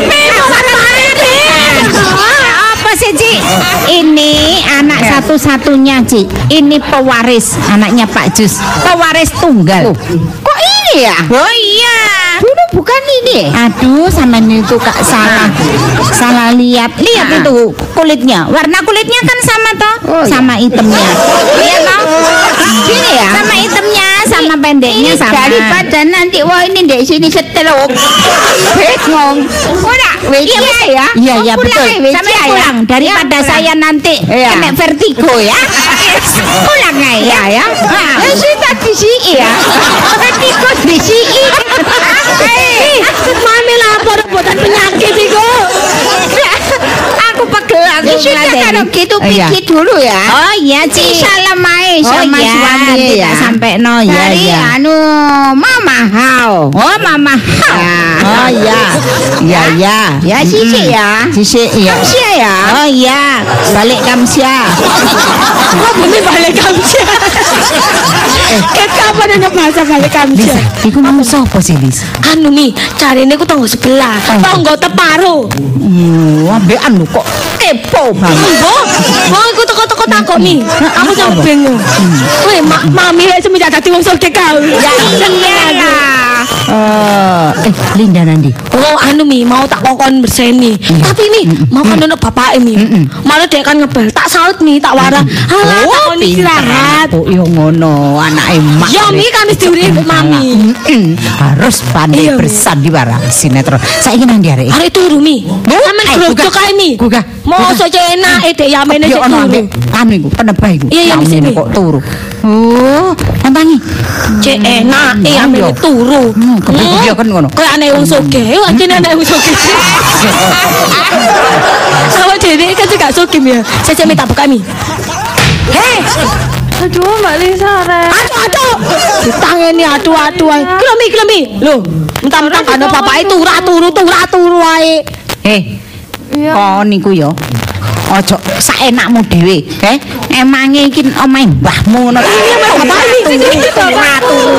Apa sih, Ci? Ini anak satu-satunya, Ci. Ini pewaris anaknya Pak Jus. Pewaris tunggal. Kok ini ya? Oh iya. Dulu bukan Kan ini. Aduh, sampean itu Kak salah lihat. Lihat itu kulitnya. Warna kulitnya kan sama toh? Oh, iya. Sama hitamnya. Iya toh? Gini ya. Sama hitamnya, sama pendeknya Ini sama. daripada nanti wah ini di sini seteluk. Bingung. Ora, iya ya. Iya, iya betul. Sampai Sampai pulang daripada saya nanti Iya. kena vertigo ya. pulang ya ya. Ya sudah di sini ya. Vertigo di sini. Mami lapor buatan penyakit iku. Aku pegel aku sudah kalau gitu Iya. pikir dulu ya. Oh iya, Ci. Salam ae sama iya, suami tidak ya. sampai no ya Dari ya. anu Mama Hao. Oh Mama. Oh iya. Iya iya. Ya sisi ya. Sisi iya. Kamsia ya. Oh iya, balik Kamsia. Kok bumi balik kamsia? Kapan ada bahasa balik Lisa, kamsia? iku mau sapa sih, Lis? Anu mi, cari ini aku tonggo sebelah, tonggo teparo. Ambekan lho kok kepo banget. Mbok, aku teko-teko takok mi. Aku sampe bingung. Weh, mami lek semenjak dadi wong sugih kau. Ya seneng aku. Linda nanti. Oh, anu mi, mau tak kokon berseni. Tapi mi, mau kan ono bapake mi. Malah dia kan ngebel, tak saut mi, tak warah. Halah, tak kon istirahat. Oh, yo ngono, anake mak. Ya mi kan wis diuri mami. Harus pandai Iya, Mi. bersandiwara sinetron. Saiki nang ndi arek? Arek turu mi. Sampeyan grojok ae mi. Gugah. Mosok cek enake dek yamene Yo cek ono turu. ambek anu iku, penebah iku. Iya, iya, di Yamene sini. kok turu. Oh, tantangi. Cek enake yamene turu. Kepiye kan ngono. Kayak aneh wong sugih, anjene aneh wong sugih. Sama dene kan juga sugih ya. Saya minta buka mi. Hei, Aduh, Mbak Lisa, Rek. aduh. Ditangeni aduh-aduh ae. Klemi. Lho, mentang-mentang kan bapake turu ae. Iya. Kon niku yo. Ojo saenakmu dhewe, Emange iki omahe mbahmu ngono. Iya, Mas, bapak ini sini. Turu.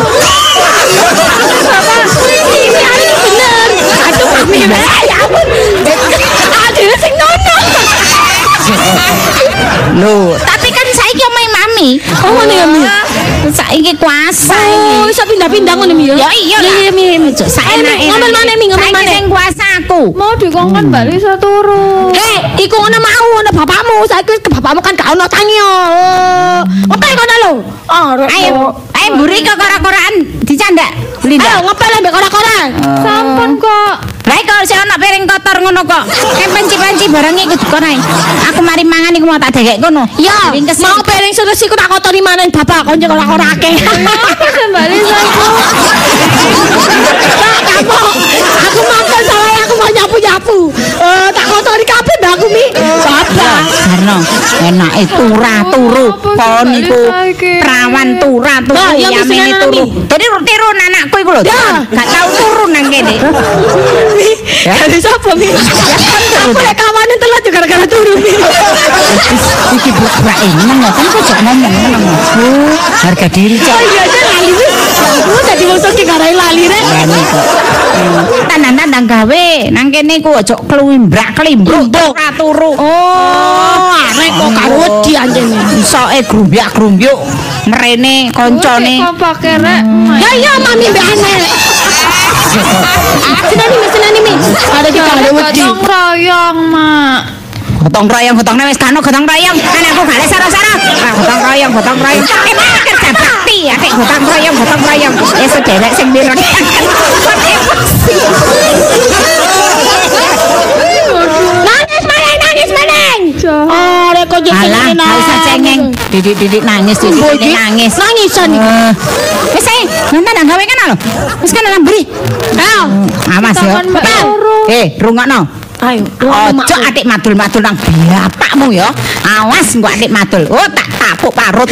Ini anu bener. Aduh, mami. Ya ampun. Aduh, sing nono. Lho, tapi kan saiki omahe mami. Oh, ngono ya, Mi? Saiki kuasa Oh, iki. iso pindah-pindah ngono mi ya. Ya iya lah. Iya, Mi. Ojo saenake. Ngomel maneh mi, ngomel Saiki maneh. sing kuasa aku. Mau dikongkon Mbak Lisa turu. Iku ngono mau ngono bapakmu. Saiki ke bapakmu kan gak ono tangi yo. Ngepel kono lho. Ayo mburi kok kora-koraan dicandak. Linda. Ayo ngepel ambek kora-kora. Sampun kok. Lah kok sik ana piring kotor ngono kok. Panci-panci barang iku dikono ae. Aku mari mangan iku mau tak degek kono. Ya, Ringkes. mau piring terus iku tak kotori maneh bapak kon cek kora-kora akeh. Apa sih Mbak Lisa itu? Aku makan salah aku mau nyapu-nyapu. Tak kotori kabeh mbak aku mi. Bapak. Karno enake turu. Kon iku perawan turu Mbak, ya yamene mesti turu. ngono, Dadi tiru anakku iku lho. Ya. Gak tau turu nang kene. Dari sapa mi? Aku lek kawane telat juga gara-gara turu mi. Iki bukan eneng kan kok jak ngomong ngono. Harga diri cok. Oh iya aja lali mi. Aku tadi mau sok garai lali rek. Berani kok. Tandang-tandang gawe nang kene ku ojo klimbruk turu. Oh, arek kok karo wedi anjene. Isoke grumbyak-grumbyuk mrene koncone. Kok pakai Rek? Ya iya mami mbak aneh. Senani mi. Ada kita ada wedi. Gotong royong, Mak. Gotong royong wis kano gotong royong. Kan aku gak lek sara-sara. Gotong royong. Kerja bakti atik gotong royong. Wis sederek sing mireng. Nangis maneng. Arek kok Alah, gak usah cengeng. Didik nangis, nangis. Nangisan iki. Wis ae, nonton gawe kan lho. Wis kan lambri. Ayo. Awas ya. Takon Mbak turu. Rungokno. Ayo. Ojo atik madul-madul nang bapakmu ya. Awas engko atik madul. Oh, tak tapuk parut.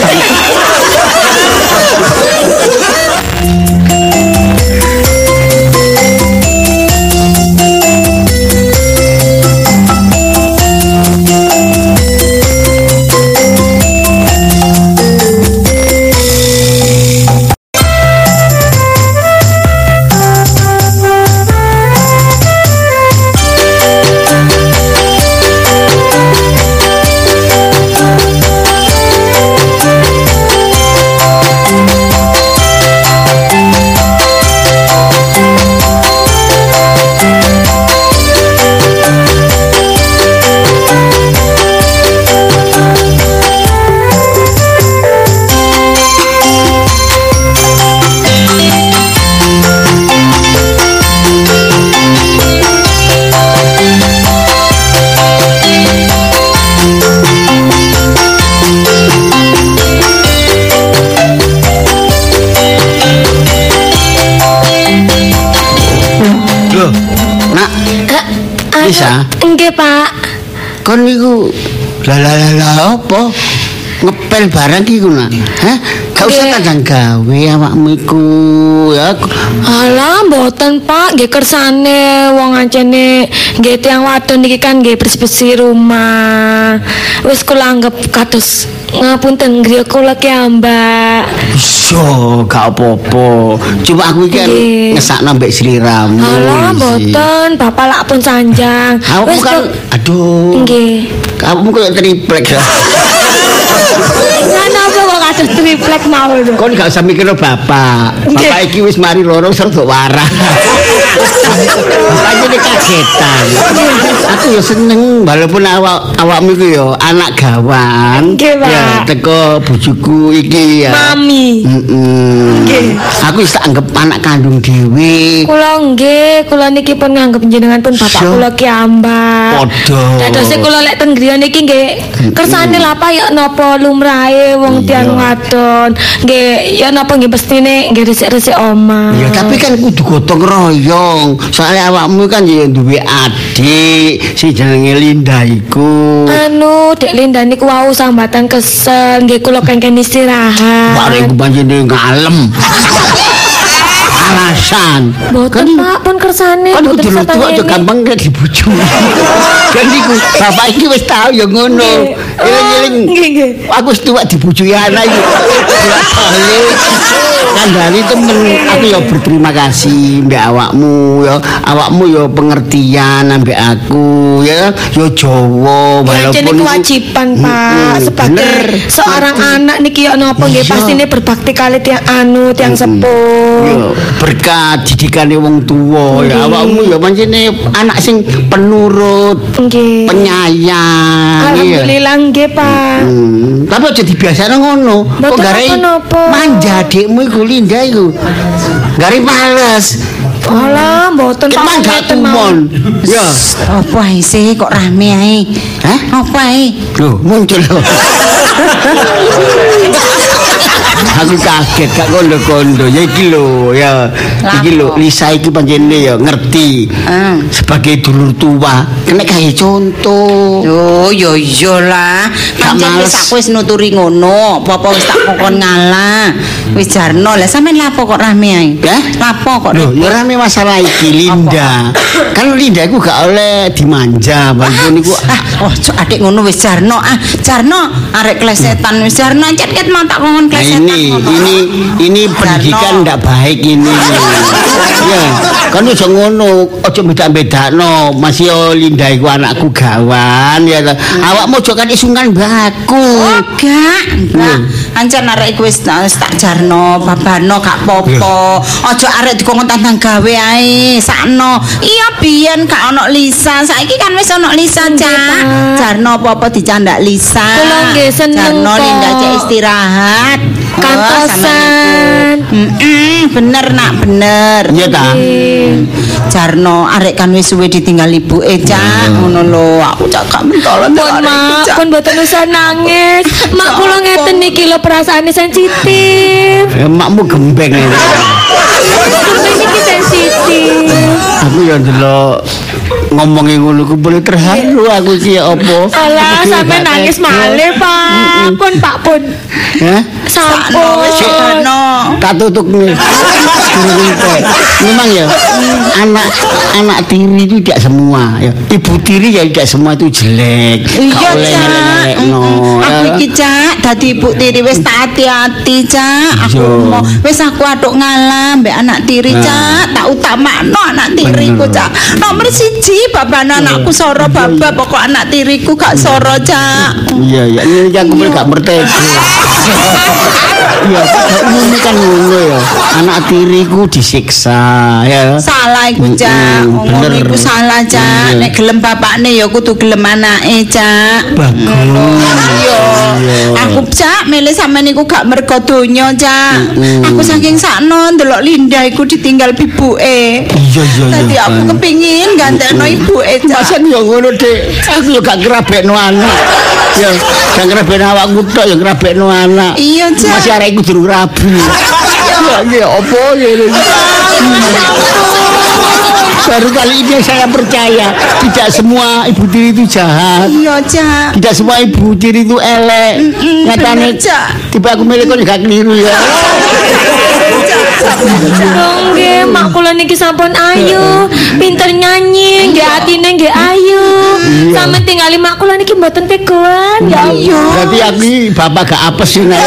Bisa. Nggih, Pak. Kon niku lah apa? Ngepel barang iku nak. Hah? Gak usah kandang gawe awakmu iku ya. Alah, mboten Pak, nggih kersane wong ancene nggih tiyang wadon iki kan nggih bersih-bersih rumah. Wis kula anggap kados ngapunten griya kula ki Mbak. Iso, gak apa-apa. Cuma aku iki kan ngesakno mbek sliramu. Alah, mboten, Bapak lak pun sanjang. Aku kan aduh. Nggih. Kamu kok triplek ya. Napa kok kados triplek mawon. Kon gak usah mikir bapak. Bapak iki wis mari loro serta warah. Bapaknya ini kagetan. Aku ya seneng walaupun awakmu iku ya anak gawan. Ya teko bojoku iki ya. Mami. Aku wis tak anggap anak kandung dhewe. Kula nggih, kula niki pun nganggep jenengan pun bapak kula ki Mbak. Padha. Dadose kula lek teng griya niki nggih kersane lha apa ya napa lumrahe wong tiyang wadon. Nggih ya napa nggih mestine nggih resik-resik omah. Ya tapi kan kudu gotong royong. Soalnya awakmu kan ya duwe adik si jenenge Linda iku. Dek Linda niku wau sambatan kesel nggih kula kengken istirahat. Bareng panjenengan ngalem. Alasan. Boten Pak pun kersane. Kan kudu tua aja gampang nek dibojo. Kan iku bapak iki wis tau ya ngono. Eling-eling. Aku wis tuwa dibojoi anak iki. Kandhani temen aku ya berterima kasih mbek awakmu ya. Awakmu ya pengertian ambek aku ya. Ya Jawa walaupun kewajiban Pak sebagai seorang anak niki ya napa nggih pastine berbakti kali tiang sepuh. Berkat didikane wong tuwa ya awakmu ya pancene anak sing penurut penyayang alhamdulillah nggih Pak tapi aja dibiasane ngono kok gare manja adikmu iku Linda iku gare males alah mboten Pak gak tumon ya apa sih kok rame ae hah apa ae lho muncul lho aku kaget gak kondo-kondo ya iki lho ya iki lho Lisa iki panjenengan ya ngerti sebagai dulur tua kena kayak contoh yo yo iyalah pancen wis aku wis nuturi ngono apa wis tak kokon ngalah wis jarno lah sampean lapo kok rame ae lapo kok ya rame masalah iki Linda kan Linda iku gak oleh dimanja walaupun niku adik ngono wis jarno jarno arek klesetan wis jarno ket mau tak kokon klesetan ini pendidikan ndak baik ini ya kan aja ngono aja beda-bedakno masih Linda iku anakku gawan ya awakmu aja kan isungan baku gak ancen arek iku wis tak jarno babano gak popo aja arek dikongkon tantang gawe ae sakno iya biyen gak ono Lisa saiki kan wis ono Lisa Cak jarno apa-apa dicandak Lisa kula nggih seneng jarno Linda cek istirahat kantosan bener nak bener iya ta jarno arek kan wis suwe ditinggal ibuke Cak ngono lho aku cak gak mentolon mak pun mboten usah nangis mak kula ngeten iki lho perasaane sensitif makmu gembeng ini sensitif aku ya ndelok ngomongin ngono ku boleh terharu aku iki apa alah sampe nangis malih Pak pun sampun tak tutup nih memang ya anak tiri itu tidak semua ya ibu tiri ya tidak semua itu jelek iya Cak aku iki Cak dadi ibu tiri wis tak hati-hati Cak aku wis aku aduk ngalah mbek anak tiri Cak tak utamakno anak tiriku Cak nomor 1 babane anakku soro baba pokok anak tiriku gak soro Cak iya ini aku gak merdeka iya umumnya kan ngono ya anak tiriku disiksa ya salah iku Cak ngomong iku salah Cak nek gelem bapakne ya kudu gelem anake Cak iya aku Cak milih sampean niku gak mergo donya Cak aku saking sakno ndelok Linda iku ditinggal ibuke iya dadi aku kepingin gantekno ibuke Cak pasen ya ngono Dik aku ya gak ngrabekno anak ya gak ngrabekno awakku tok ya ngrabekno anak iya Cak masih arek iku durung rabi ya opo ngene Baru kali ini saya percaya tidak semua ibu tiri itu jahat. Iya, Cak. Tidak semua ibu tiri itu elek. Nyatane tiba aku milih kok gak keliru ya. Dong nggih, mak kula niki sampun ayu, pinter nyanyi, nggih atine nggih ayu. Sampe tingali mak kula niki mboten tegoan. Ya Allah. Berarti aku bapak gak apes ya.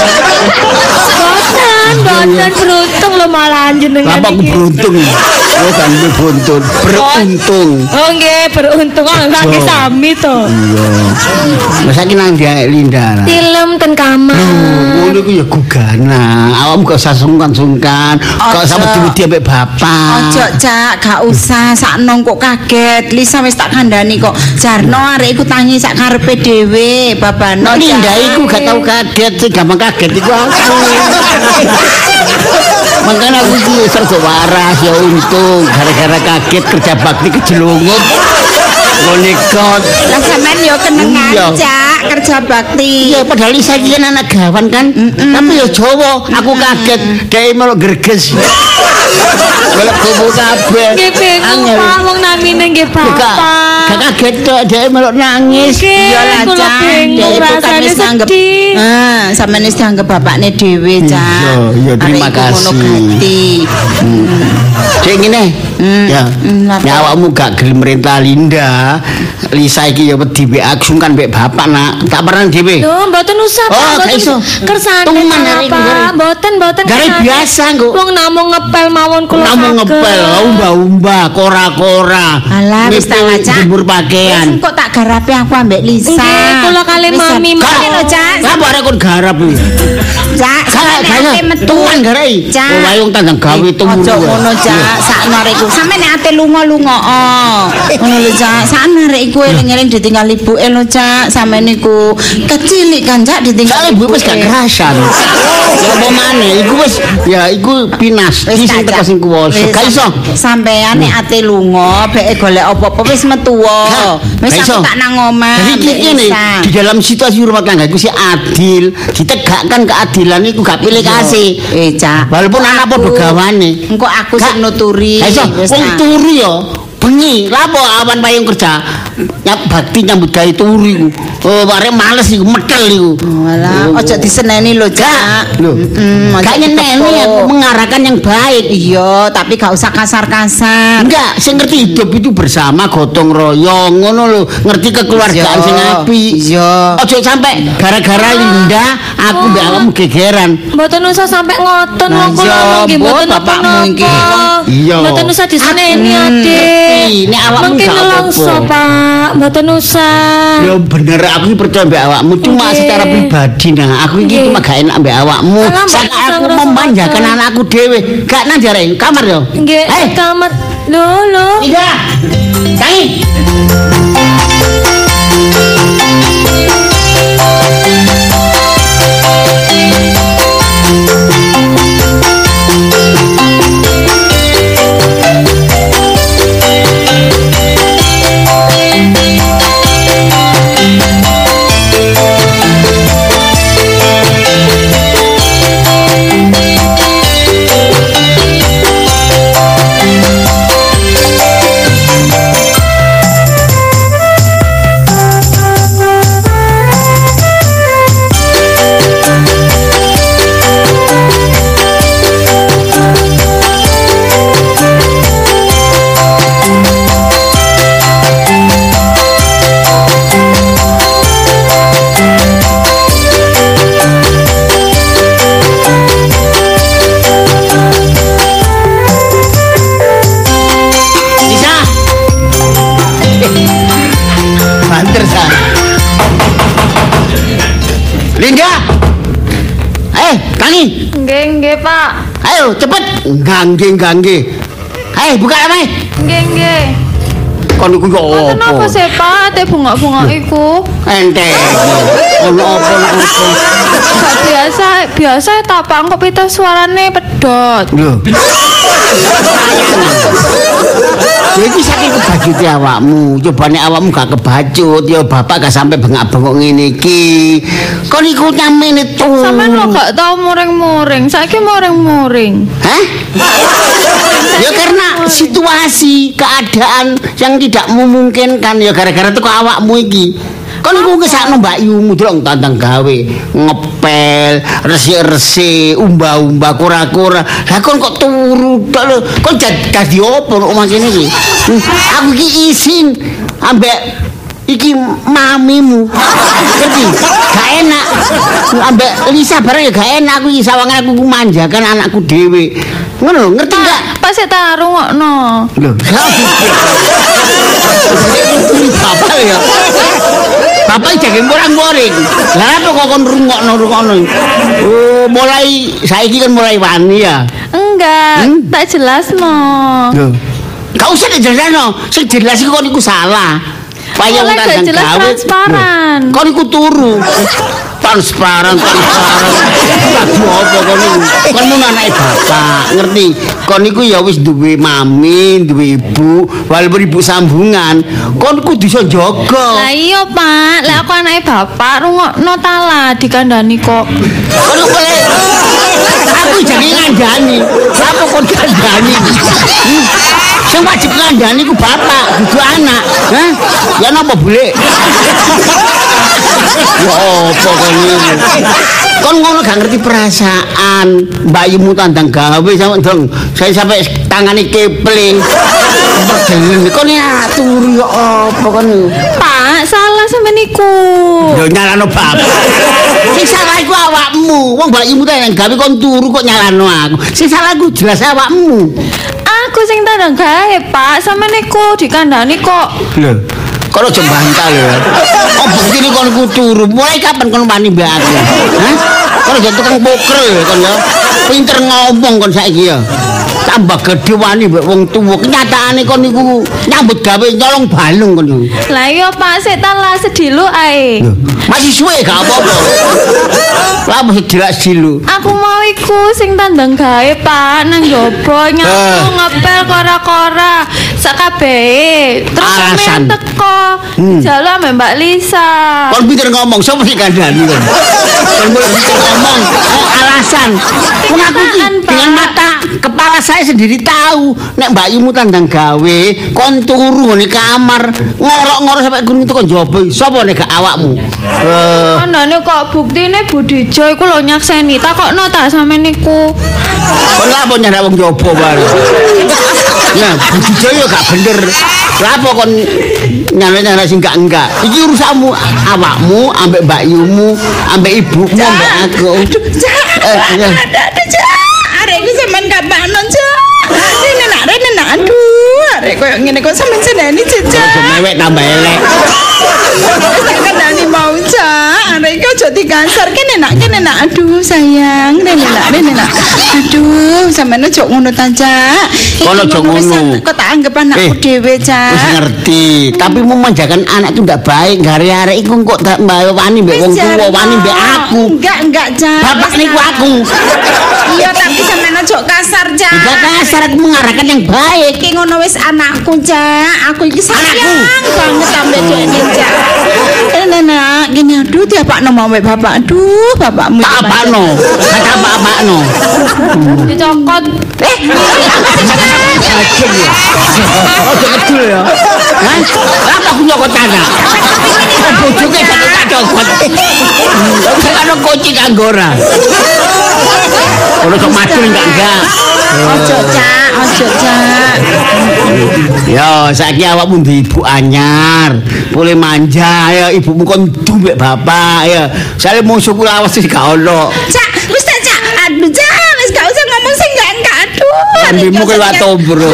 Boten beruntung lho malah jenengan. Bapak iki. beruntung. Oh kan beruntung. Beruntung. Oh nggih, beruntung kaki sami to. Iya. Masa ki nang dia Linda. Film ten kamar. Ngono ku ya gugana. Awakmu gak usah sungkan-sungkan. Kok sampe diwedi ambek bapak. Ojo, Cak, gak usah sakno kok kaget. Lisa wis tak kandhani kok. Jarno arek iku tangi sak karepe dhewe, babano. Linda iku gak tau kaget, sing gampang kaget iku aku. Makanya aku iki serba waras ya untung gara-gara kaget kerja bakti kejelungup. Monikot. Lah sampean yo kenengan, Iya. Cak, kerja bakti. Iya padahal Lisa iki kan anak gawan kan. Tapi ya Jawa, aku kaget dhek melok greges. Melok kubu kabeh. Nggih bingung Pak, wong namine nggih bapak. Gak kaget tok dhek melok nangis. Iya lah, Kula Cak. bingung, Dhek itu kan rasane wis dianggep sedih. sampean wis dianggep bapakne dhewe, Cak. Iya, terima Arek iku ngono kasih. ganti. Cek ngene. Ya. Ya awakmu gak gelem merintah Linda. Lisa iki ya wedi mbek aku sungkan mbek bapak nak. Tak pernah dhewe. Loh, mboten usah Pak, Oh, gak mboten iso. kersane Tungman hari ini, Pak. Gary. Mboten Gary kersane. biasa, Nggo. Wong namung ngepel mawon kula. Namun ngepel, umba-umba, kora-kora. Alah, wis tak Nipil ngajak. jemur pakaian. Kok tak garapi aku ambek Lisa. Nggih, kula kali Wis, mami Cak. mami Lho, Cak. Apa arek kon garap iki? Cak, sampeyan ate metu. Tuan garai. Cak. Oh, wayung tandang gawe tumuru. Ojo ngono, Cak. Sakno arek iku. Sampeyan nek ate lunga-lunga. Ngono lho, Cak. Sakno arek iku eling-eling ditinggal ibuke lho, Cak. Sampeyan niku kecilik kan, Cak, ditinggal Soale ibu wis gak kerasan. Ya apa maneh iku wis ya iku pinas. Iki sing teko sing kuwasa. Gak iso. Sampeyan nek ate lunga, beke golek apa-apa wis metu wae. Wis Gak iso. aku tak nang omah. Jadi ambek ngene, Lisa. di dalam situasi rumah tangga itu sih adil, ditegakkan keadilan itu gak pilih kasih. Cak. Walaupun anak padha gawane. Engko aku sing nuturi. Gak iso, Wis, wong tak. turu ya bengi. Lapo awan payung kerja. Bakti nyambut gawe turu iku. Oh, arek males iku, metel iku. Walah, ojo diseneni lho, Cak. Lho. Gak nyeneni aku mengarahkan yang baik. Iya, tapi gak usah kasar-kasar. Enggak, sing ngerti hidup itu bersama gotong royong ngono lho, ngerti kekeluargaan Iya, sing apik. iya. Ojo sampai gara-gara Linda aku mbak awakmu gegeran. Mboten usah sampe ngoten Nah, wong kula iya, nggih Bu, mboten bapakmu iki. napa-napa. Iya. Mboten usah diseneni Adik. ngerti. Nek awakmu Mungkin gak apa-apa. nelongso Pak, mboten usah. Ya bener aku iki percaya mbak awakmu cuma Nggih. secara pribadi nah aku iki Nggih. cuma gak enak mbak awakmu. Alah, mbak, Saat usah aku ngerasa memanjakan apa. anakku dhewe, gak nang jare kamar yo. Nggih, kamar. Lho. Linda. Tangi. Bisa. Banter sa. Linda. Tangi. Nggih, Pak. Ayo cepet. Gangge. Buka ame. Nggih. Kon iku yo Kenapa apa? sih, Pak? Ate bunga-bunga iku. Ente. Ono apa iku? Gak biasa tak Pak, kok pita suarane pedot. Lho. Ya iki saking kebagian maksud awakmu. Coba nek awakmu gak kebacut ya bapak gak sampai bengak-bengok ngene iki. Kon iku nyamene tuh. Sampeyan lo gak tau muring-muring. Saiki muring-muring. Hah? Ya karena situasi, keadaan yang tidak memungkinkan ya gara-gara teko awakmu iki. Kon iku ngesakno Mbak Yumu delok tandang gawe, ngepel, resik-resik, umba-umba, kura-kura. Lah kon kok turu tok lho. Kon dadi opo nek omah kene iki? Aku iki isin ambek iki mamimu. Ngerti? Gak enak. Ambek Lisa bareng ya gak enak aku iki sawangan aku manjakan anakku dhewe. Ngono, ngerti enggak? Pas tak rungokno. Lho, Bapak ya. Bapak jangan morang-moring. Lah apa kok kon rungokno? Oh, mulai saiki kan mulai wani ya. Enggak, tak jelasno. Lho. Gak usah dijelasno. Sing jelas iku kon iku salah. Payah Mulai gak jelas transparan. Kon iku turu. Transparan. Lagi apa kon iku? Kon mun anake bapak, ngerti? Kon iku ya wis duwe mami, duwe ibu, walaupun ibu sambungan, kon kudu iso jaga. Lah iya, Pak. Lah aku anake bapak rungokno tala dikandani kok. Kon boleh. Aku jadi ngandani. Apa kon ngandani? Sing wajib ngandani ku bapak, kudu anak. Hah? Ya napa boleh? Ya apa kon iki? Kon ngono gak ngerti perasaan Mbak Yumu tandang gawe sampe dong. Saya sampai tangane kepling. Kon ya turu ya apa kon? Pak, salah sampe niku. Yo nyalano bapak. Sing salah iku awakmu. Wong Mbak Yumu tandang gawe kon turu kok nyalano aku. Sing salah iku jelas awakmu. Aku sing tandang gawe, Pak. Sampe niku dikandani kok. Lho. Kalau aja bantah lho. Oh bukti kon ku turu. Mulai kapan kon wani mbak aku? Hah? Kon aja tukang poker ya kon ya. Pinter ngomong kon saiki ya. Tambah gede wani mbek wong tuwa. Kenyataane kon niku nyambut gawe nyolong balung kon niku. Lah iya Pak, sik talah sedilu ae. Masih suwe gak apa-apa. Lah mesti dilak silu. Aku mau iku sing tandang gawe, Pak, nang jobo nyapu ngepel kora-kora sakabehe. Terus sampeyan teko jalu ambek Mbak Lisa. Kon pinter ngomong, sapa sing kandhani kon? Kon boleh pinter ngomong, alasan. Wong aku iki dengan mata kepala saya sendiri tahu nek Mbak Yumu tandang gawe, kon turu ngene kamar, ngorok-ngorok sampai gunung itu kon jobo. Sapa nek gak awakmu? Andane kok buktine Budijo iku lho nyakseni, takokno tak sampe niku. Kon lha apa nyandak wong jobo bae. Nah, Budijo yo gak bener. Lha apa kon nyana-nyana sing gak enggak. Iki urusanmu awakmu ambek Mbak Yumu, ambek ibumu ambek aku. Aduh, arek iki sampean gak panon, Cak. Rene nak, aduh, arek koyo ngene kok sampean seneni, Cak. Aja mewek tambah elek. Tak kendani mau, Cak. Arek iki aja dikasar kene nak. Aduh, sayang, rene nak. Aduh, sampean aja ngono ta, Cak. Kono aja ngono. Kok tak anggap anakku dhewe, Cak. Wis ngerti, tapi memanjakan anak itu ndak baik. Gara-gara iku kok tak wani mbek wong tuwa, wani mbek aku. Enggak, Cak. Bapak niku aku. Iya, tapi sampean aja kasar, Cak. Enggak kasar, aku mengarahkan yang baik. Iki ngono wis anakku, Cak. Aku iki sayang banget ambek dene, Cak. Nak, gini aduh diapakno mau mbek bapak. Aduh, bapakmu. Tak apakno. Kata apa-apakno. Dicokot. Ajeng ya. Ojo kecil ya. Hah? Apa aku nyokot anak? Bojoke tak cokot. Kan kunci kanggora. Kalau sok macul enggak. Ojo, Cak. Ya, saiki awakmu di ibu anyar. Boleh manja ya ibumu kon duwe bapak ya. Sale musuhku lawas sih gak ono. Cak, wis tak, Cak. Aduh, Cak, wis gak usah ngomong sing enggak. Aduh. Ambilmu kowe watobro.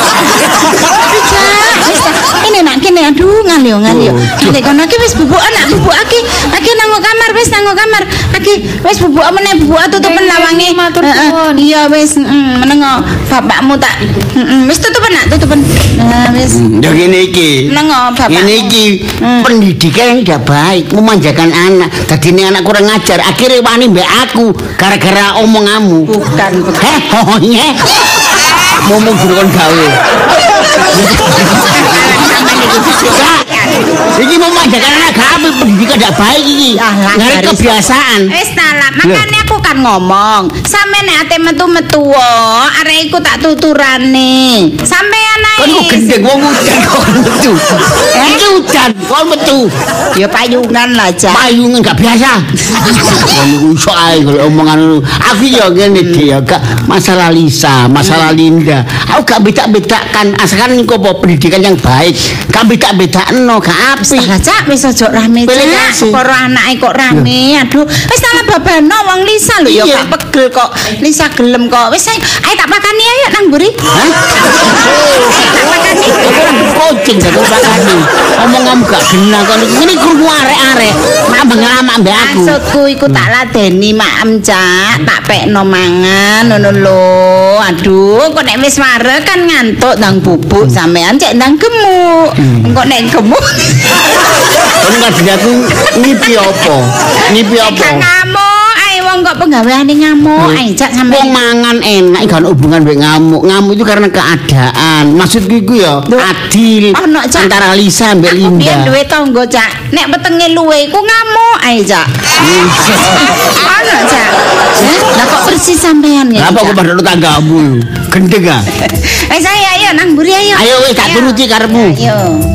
Ini nak kene aduh ngalio. Nek kono iki wis bubuk anak bubuk aki nang kamar wis nang kamar. Aki wis bubuk meneh bubuk tutupen lawange. Iya wis menengo bapakmu tak wis tutupen nak tutupen. Wis. Ya ngene iki. Menengo bapak. Ngene iki pendidikan yang tidak baik, memanjakan anak. Dadine anak kurang ajar, akhirnya wani mbek aku gara-gara omonganmu. Bukan. Heh, ngomong jero kon gawe. Iki mau manjakan anak gawe pendidikan ndak baik iki. Ngare kebiasaan. Wis lah, makane aku kan ngomong, sampe nek ate metu-metu arek iku tak tuturane. Sampean ae. Kan kok gendeng wong udan kok metu. Udan kok metu. Ya payungan lah, Cak. Payungan gak biasa. Wong iku iso ae kalau omongan aku ya ngene dia gak masalah Lisa, masalah Linda. Aku gak beda-bedakan asalkan niku apa pendidikan yang baik. Gak beda-bedakno gak apik. Lah Cak wis aja rame Cak. Karo anake kok rame. Aduh, wis salah babano wong Lisa lho ya gak pegel kok. Lisa gelem kok. Wis ayo tak pakani ayo nang mburi. Hah? Tak pakani. Kucing tak pakani. Omong-omong gak genah kon ngene krungu arek-arek. Nambah ngelamak mbek aku. Maksudku iku tak ladeni maem Cak, tak pekno mangan ngono lho. Aduh, kok nek wis wareg kan ngantuk ndang bubuk sampean cek ndang gemuk. Engko nek gemuk kon kadine aku ngipi apa? Ngipi apa? ngamuk, ae wong kok penggaweane ngamuk, ae Cak Wong sampean. mangan enak gak ono hubungan mbek ngamuk. Ngamuk itu karena keadaan. Maksudku iku ya adil Ono, Cak. antara Lisa mbek Biyen Linda. duwe tangga Cak, nek wetenge luwe iku ngamuk ae Cak. Ono Cak. Lah kok persis sampean ngene. Apa kok Cak? padha tanggamu? Gendeng ah. Wis ayo nang mburi ayo. Ayo wis tak turuti karepmu. Ayo.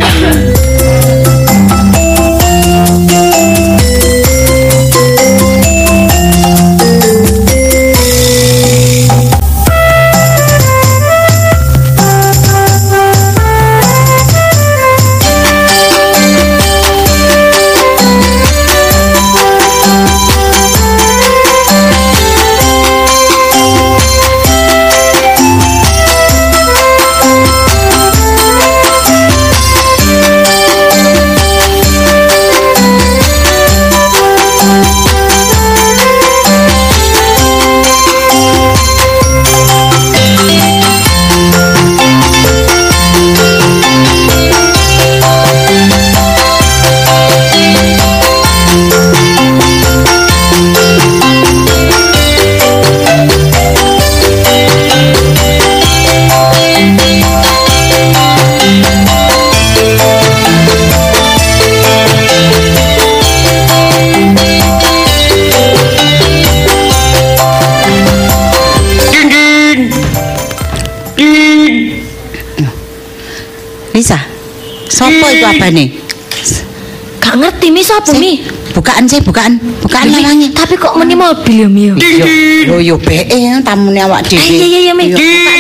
Lisa. Sopo iku abane? Gak ngerti mi sapa mi. Bukaan sih, bukaan lawange. Tapi kok meni mobil ya mi. Yo beke tamune awak dhewe. Iya mi.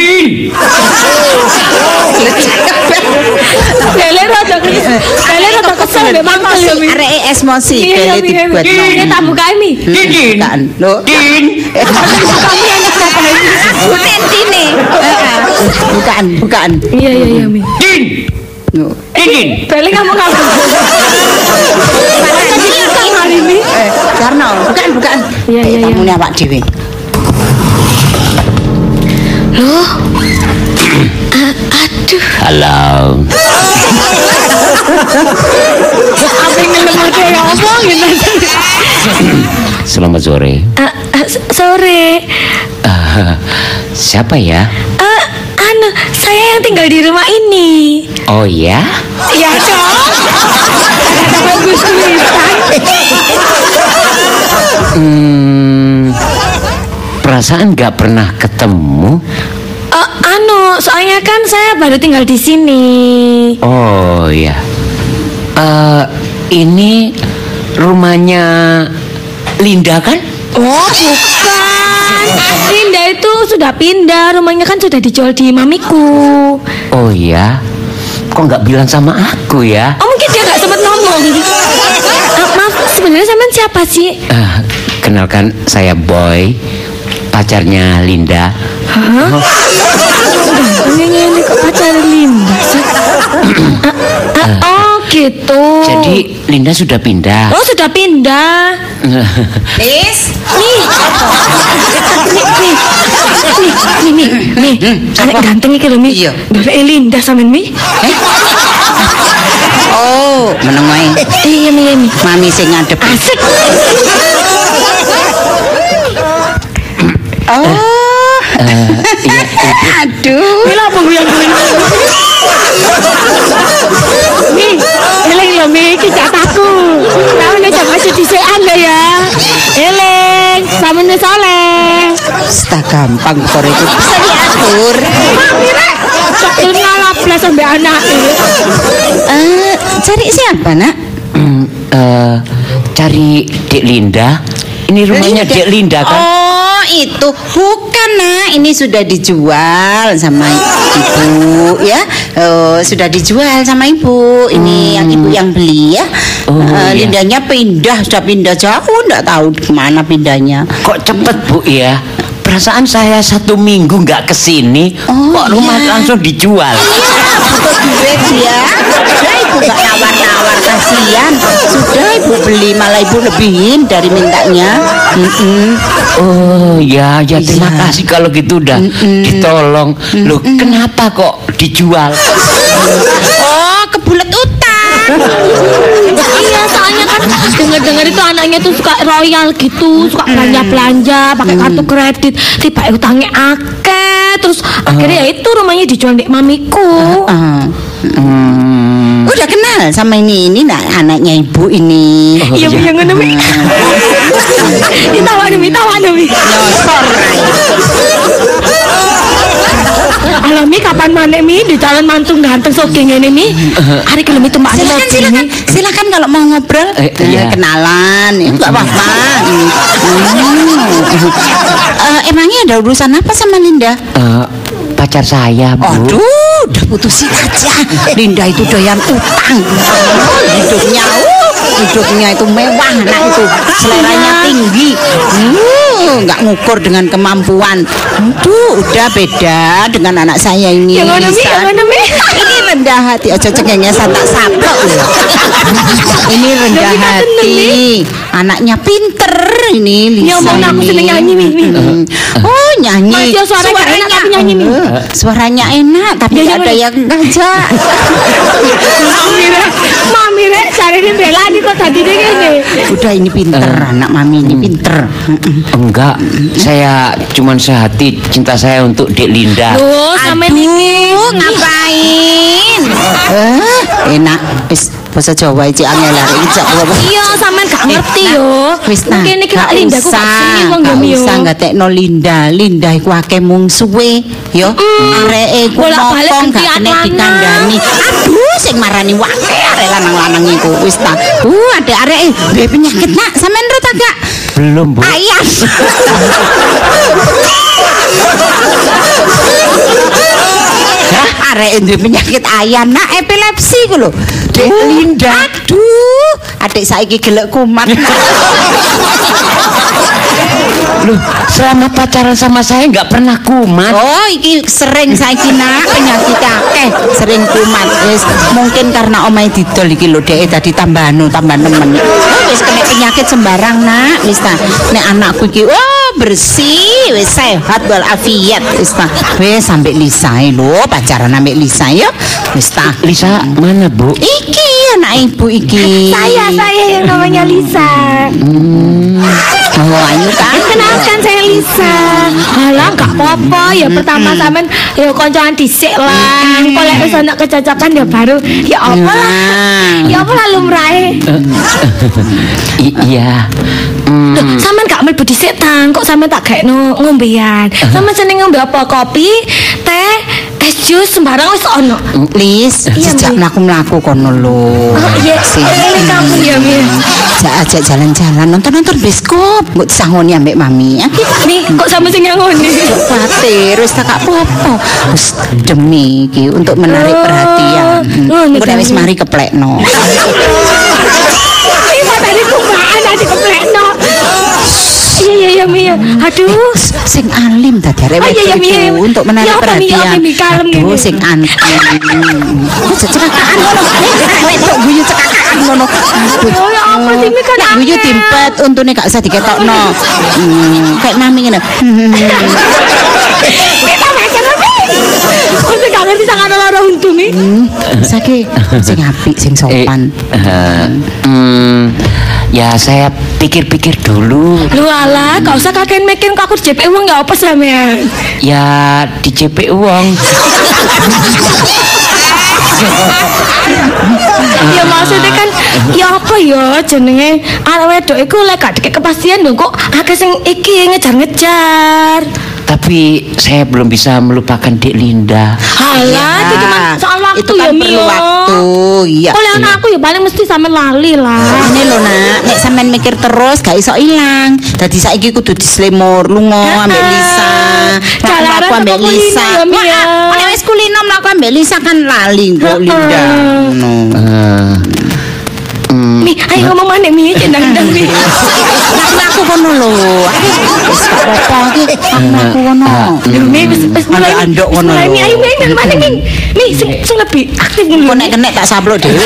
Lele rada kesel mbek mangkel ya mi. Areke emosi Iya, bele Mi. dibuatno. Ini tak bukain mi. Bukaan. Lho. Aku tentine. Bukaan. Iya mi. Lho. Beli kamu. Hari ini. Karno, bukaan. Iya. Tamune awak dhewe. Loh. Aduh. Halo. Apa yang ada ya omongin Selamat sore. Sore. Siapa ya? Saya yang tinggal di rumah ini. Oh ya? Iya dong. Bagus tulisan. Perasaan gak pernah ketemu. Soalnya kan saya baru tinggal di sini. Oh ya. Ini rumahnya Linda kan? Oh bukan. Linda itu sudah pindah. Rumahnya kan sudah dijual di mamiku. Oh ya. Kok nggak bilang sama aku ya? Oh mungkin dia nggak sempat ngomong. Maaf, sebenarnya sampean siapa sih? Kenalkan saya Boy, pacarnya Linda. Hah? Ini kok pacar Linda sih? Oh gitu. Jadi Linda sudah pindah. Oh sudah pindah. Lis. Nih, anak ganteng iki lho Mi. Iya. Dari Linda sampean Mi. Oh, meneng wae. Iya Mi. Mami sing ngadep. Asik. Aduh. Mila apa gue yang gue? tukang kor itu bisa diatur. Mami rek, cokil ngalaplas sampai anaknya. Cari siapa nak? Cari Dek Linda. Ini rumahnya Dek Linda kan? Oh itu bukan nak, ini sudah dijual sama ibu ya. Sudah dijual sama ibu. Ini yang ibu yang beli ya. Iya. Lindanya sudah pindah jauh, nggak tahu kemana pindahnya. Kok cepet Bu ya? Perasaan saya 1 minggu nggak kesini, kok rumah langsung dijual. Butuh duit ya. Sudah ibu nggak nawar-nawar, kasihan. Sudah ibu beli, malah ibu lebihin dari mintanya. Oh ya terima kasih kalau gitu udah ditolong. Loh kenapa kok dijual? Oh kebulet utang. Iya, soalnya kan dengar-dengar itu anaknya tuh suka royal gitu, suka belanja-belanja pakai kartu kredit, tiba utangnya akeh, terus akhirnya ya itu rumahnya dijual di mamiku. Udah kenal sama ini nak anaknya ibu ini. Iya, Bu, yang ngono, Mi. Ditawa Mi. Nyosor. Alami kapan mana Mi di jalan mantung ganteng soking ini Mi. Hari kelemi tuh Mbak Silakan kalau mau ngobrol. Kenalan, enggak apa-apa. Emangnya ada urusan apa sama Linda? Pacar saya Bu. Aduh, udah putusin aja. Linda itu doyan utang. Hidupnya itu mewah, anak itu seleranya tinggi. Nggak ngukur dengan kemampuan. Udah beda dengan anak saya ini. Yang mana Mi? Ini rendah hati. Ojo cengengnya tak saplok. Ini rendah hati. Anaknya pinter ini Lisa. Ngomong aku seneng nyanyi Mi. Oh nyanyi. Mas, suaranya enak tapi nyanyi Mi. Suaranya enak tapi nggak ada yang ngajak. Mami rek cari di bela nih kok tadi deh gini. Udah ini pinter, anak mami ini pinter. Enggak, saya cuman sehati cinta saya untuk Dek Linda. Loh, sampe niki ngapain? Enak, wis bahasa Jawa iki angel arek ijak. Iya, sampean gak ngerti yo. Wis nah, mungkin iki Linda ku gak seneng wong yo. Usah gatekno Linda iku akeh mungsuhe yo. Areke ku mokong gak kena dikandani. Aduh, sing marani wake arek lanang-lanang iku. Wis ta. Adek areke duwe penyakit nak, sampean ro ta gak? Belum Bu. Ayam. Arek duwe penyakit ayam nak epilepsi ku lho. Dek Linda. Aduh, adik saiki gelek kumat. Loh, selama pacaran sama saya nggak pernah kumat. Oh, iki sering saiki nak penyakit akeh, sering kumat. Wis mungkin karena omahe didol iki lho dhek tadi tambah nemen. Wis kena penyakit sembarang nak. Wis ta. Nek anakku iki bersih, wis sehat walafiat. Wis ta. Wis sampe Lisa lho, pacaran ambek Lisa ya. Wis ta. Lisa mana Bu? Iki anak ibu iki. Saya yang namanya Lisa. Oh, ayo kan. Kenalkan saya Lisa. Halah gak apa-apa ya pertama sampean ya koncoan dhisik lah. Kalau wis ana kecocokan ya baru ya apa lah. Ya apa lah lumrahe. Iya. Loh, sampean gak mlebu dhisik tang, kok sampean tak gaekno ngombean. Sampean seneng ngombe apa? Kopi, teh, es jus sembarang wis ono. Lis, sejak mlaku-mlaku kono lho. Iya, ini kamu ya, Mi. Ajak jalan-jalan, nonton bioskop. Mbok disangoni ambek mami. Nih, kok sama sing ngangoni? Khawatir, wis tak apa-apa. Wis demi iki untuk menarik perhatian. Engko wis mari keplekno. Iki tadi kumaan tadi keplekno. Iya, Mi. Aduh, sing alim tadi arek itu untuk menarik perhatian. Aduh, sing antim. Cekakaan ngono. Wedok guyu cekakaan ngono. ya apa sih Mi kan guyu timpet untune gak usah diketokno. Kayak mami ngene. Kita macam apa? Kok gak ngerti sangat lara untung Mi. Sing apik, sing sopan. Ya saya pikir-pikir dulu. Lu alah, gak usah kakek mikir kok aku di JP uang gak apa sampean. Ya di JP uang. Ya maksudnya kan ya apa ya jenenge arek wedok iku lek gak dikek kepastian lho kok akeh sing iki ngejar-ngejar. Tapi saya belum bisa melupakan Dek Linda. Halah, itu cuma soal waktu itu kan ya, perlu Mio. waktu. Iya. Oleh anak aku ya paling mesti sampe lali lah. Ini lho nak, nek sampean mikir terus gak iso ilang. Dadi saiki kudu dislemur lunga ambek Lisa. Jalaran Aku ambek sama Lisa. kulino ya, Mia. Nek wis kulino mlaku ambek Lisa kan lali kok Linda. Ngono. Mi, ayo ngomong mana Mi, cendang-cendang Mi. Aku kono lho. Wis gak apa-apa iki. Aku kono. Mi, wis mulai. Andok kono Mulai lho. Mi, ayo Mi, nang mana Mi? Mi, sing lebih aktif Kok ngono. nek kenek tak sablok dhewe.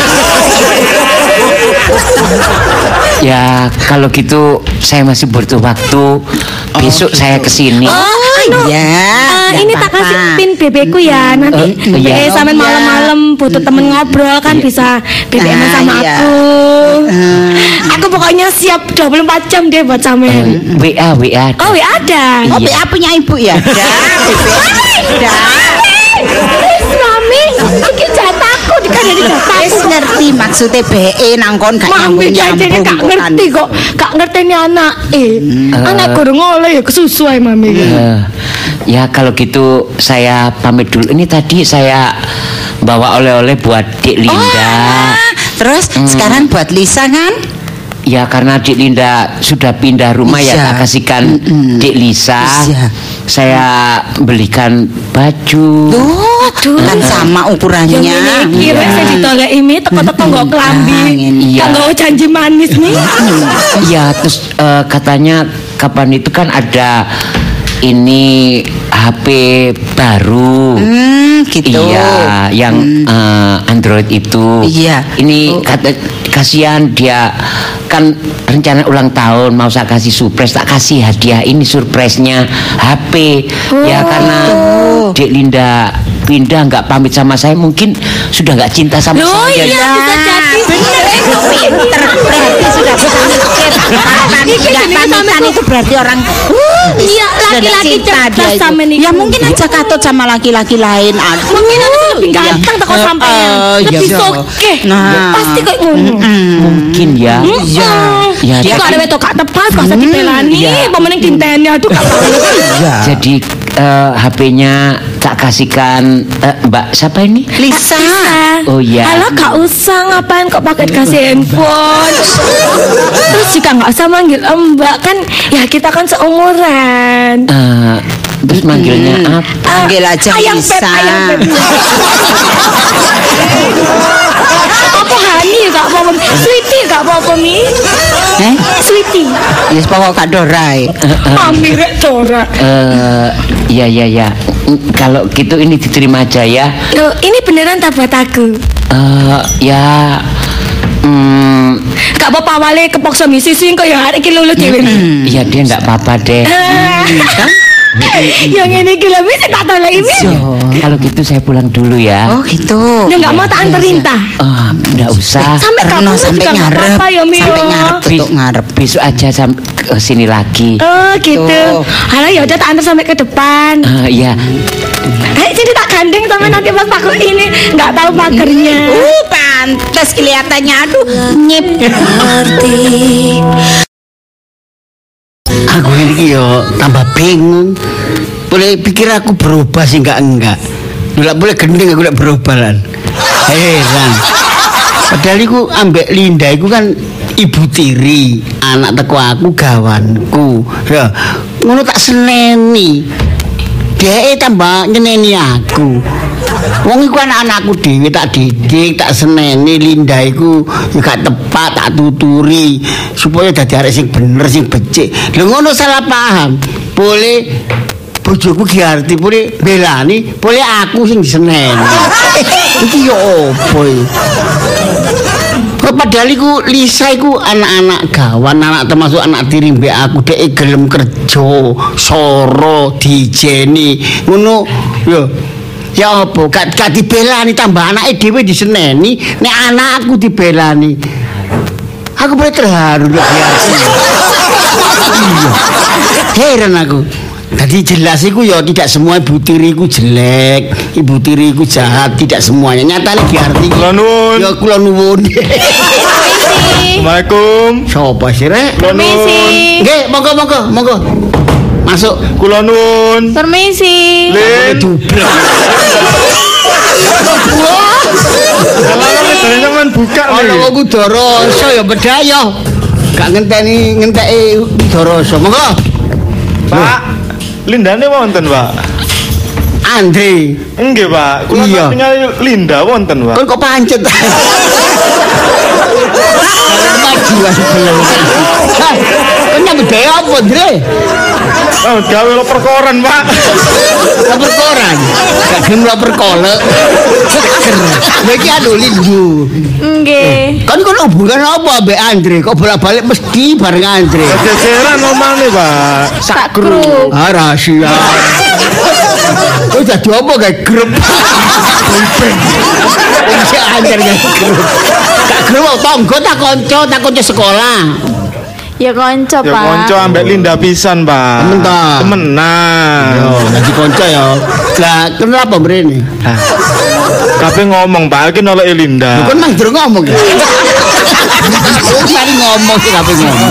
Ya kalau gitu saya masih butuh waktu. Besok saya kesini. Iya. Ini tak kasih pin BB-ku ya. Nanti iya. sampe malam-malam butuh temen ngobrol kan bisa BBM sama iya. aku. Aku pokoknya siap 24 jam deh buat sampean. WA. Oh, ya ada. Oh, BA punya ibu ya? Mami, iki jatahku dikandani jatahku. Wis ngerti maksudnya BE nangkon gak Mami jajane gak ngerti kok, gak ngerteni anak. Anak gorong oleh ya kesusu ae Mami. Ya kalau gitu saya pamit dulu. Ini tadi saya bawa oleh-oleh buat Dek Linda. Terus sekarang buat Lisa kan? Ya karena Dek Linda sudah pindah rumah ya Iya. tak kasihkan Dek Lisa. Iya. Saya belikan baju. Tuh, kan sama ukurannya. Yang ini kira saya ditoleki mi teko-teko nggo klambi. Iya. Kan nggo janji manis nih. Iya terus katanya kapan itu kan ada ini HP baru. Gitu. Iya, yang Android itu. Iya. Ini kata kasihan dia kan rencana ulang tahun mau saya kasih surprise, tak kasih hadiah ini surprise-nya HP. Ya karena Dek Linda pindah nggak pamit sama saya, mungkin sudah nggak cinta sama Loh saya. iya bisa jadi. Pinter berarti sudah bisa mikir. Nggak pamitan itu berarti orang. Iya, laki-laki cerdas sama nih. Ya mungkin aja katut sama laki-laki lain. Mungkin aku lebih ganteng teko sampean. Lebih soke. Nah. Pasti kok ngono. Mungkin ya. Iya. Ya, Dia kok ada wetok gak tepat pas dipelani, apa meneng dinteni aduh gak jadi HP-nya tak kasihkan Mbak siapa ini? Lisa. Oh iya. Halo gak usah ngapain kok pakai kasih handphone. Terus juga gak usah manggil Mbak kan ya kita kan seumuran. Terus manggilnya apa? Panggil aja Ayam Lisa. Pep, ayam Pep. Apa Hani gak apa-apa, Sweetie gak apa-apa Mi. Sweetie. Ya pokok Kak Dorai. Mami rek Dora. Ya. Kalau gitu ini diterima aja ya. Loh, ini beneran tak buat aku. Ya. Gak apa-apa wale kepoksa misi sing kok ya hari iki lulu dhewe. Ya dia nggak apa-apa deh. Yang ini gila bisa tak tahu lagi. Kalau gitu saya pulang dulu ya. Oh gitu. Ya nggak mau tak anterin ta. Nggak usah. Sampai kamu sampai juga nggak ngarep. apa-apa ya Mio. Sampai ngarep tutup ngarep. Besok aja ke sini lagi. Oh gitu. Halo ya udah tak antar sampai ke depan. Ya. Jadi tak gandeng sampai nanti pas aku ini nggak tahu pagernya. Pantes kelihatannya aduh nyip. Aku ini yo tambah bingung. Boleh pikir aku berubah sih enggak. Nggak boleh gendeng aku nggak berubah lan. Heran. Padahal aku ambek Linda aku kan ibu tiri, anak teko aku gawanku. Ya, ngono tak seneni. Dia tambah nyeneni aku. Wong iku anak-anakku dhewe tak didik, tak seneni. Linda iku ya gak tepat tak tuturi supaya dadi arek sing bener, sing becik. Lha ngono salah paham. Boleh bojoku Giarti boleh belani, boleh aku sing diseneni. Iki yo opo iki? Padahal iku Lisa iku anak-anak gawan, anak termasuk anak tiri mbek aku dhek gelem kerja, soro, dijeni. Ngono yo. Ya apa gak dibelani tambah anake dhewe diseneni, nek anak aku dibelani. Aku boleh terharu lho biasa. Iya. Heran aku. Tadi jelas iku ya tidak semua ibu tiriku jelek, ibu tiriku jahat, tidak semuanya. Nyatane diarti. Kula nuwun. Ya kula nuwun. Assalamualaikum. Sopo sih rek? Kula nuwun. Nggih, monggo. Masuk. Kula nuwun. Permisi. Lin. Dublek. Kalau dari sampean buka Ono nih. kok Kudarasa ya bedaya. Gak ngenteni Kudarasa. Monggo. Pak, lindane wonten, Pak. Andre. Nggih, Pak. Kula Iya. tinggal Linda wonten, Pak. Kon kok pancet. Kemajuan belum. Kon nyambut gawe apa, Andre? Oh, gawe lo perkoran, Pak. Lapor koran. Gak gelem lapor kolek. Seger. Lha iki anu Lindu. Nggih. Kan kon hubungan apa ambek Andre? Kok bolak-balik mesti bareng Andre? Gegeran omane, Pak. Sak grup. Ah rahasia. Kok jadi apa kayak grup? Bisa anjar kayak grup. Gak grup tonggo tak konco sekolah. Ya kanca, Ya Pak. konco ambek Linda pisan, Pak. Temen ta? Temenan. Yo, jadi konco ya. Lah, kenapa mrene? Nah, kabeh ngomong, Pak, iki nolok Linda. Kon mang durung ngomong ya. Mari ngomong sih kabeh ngomong.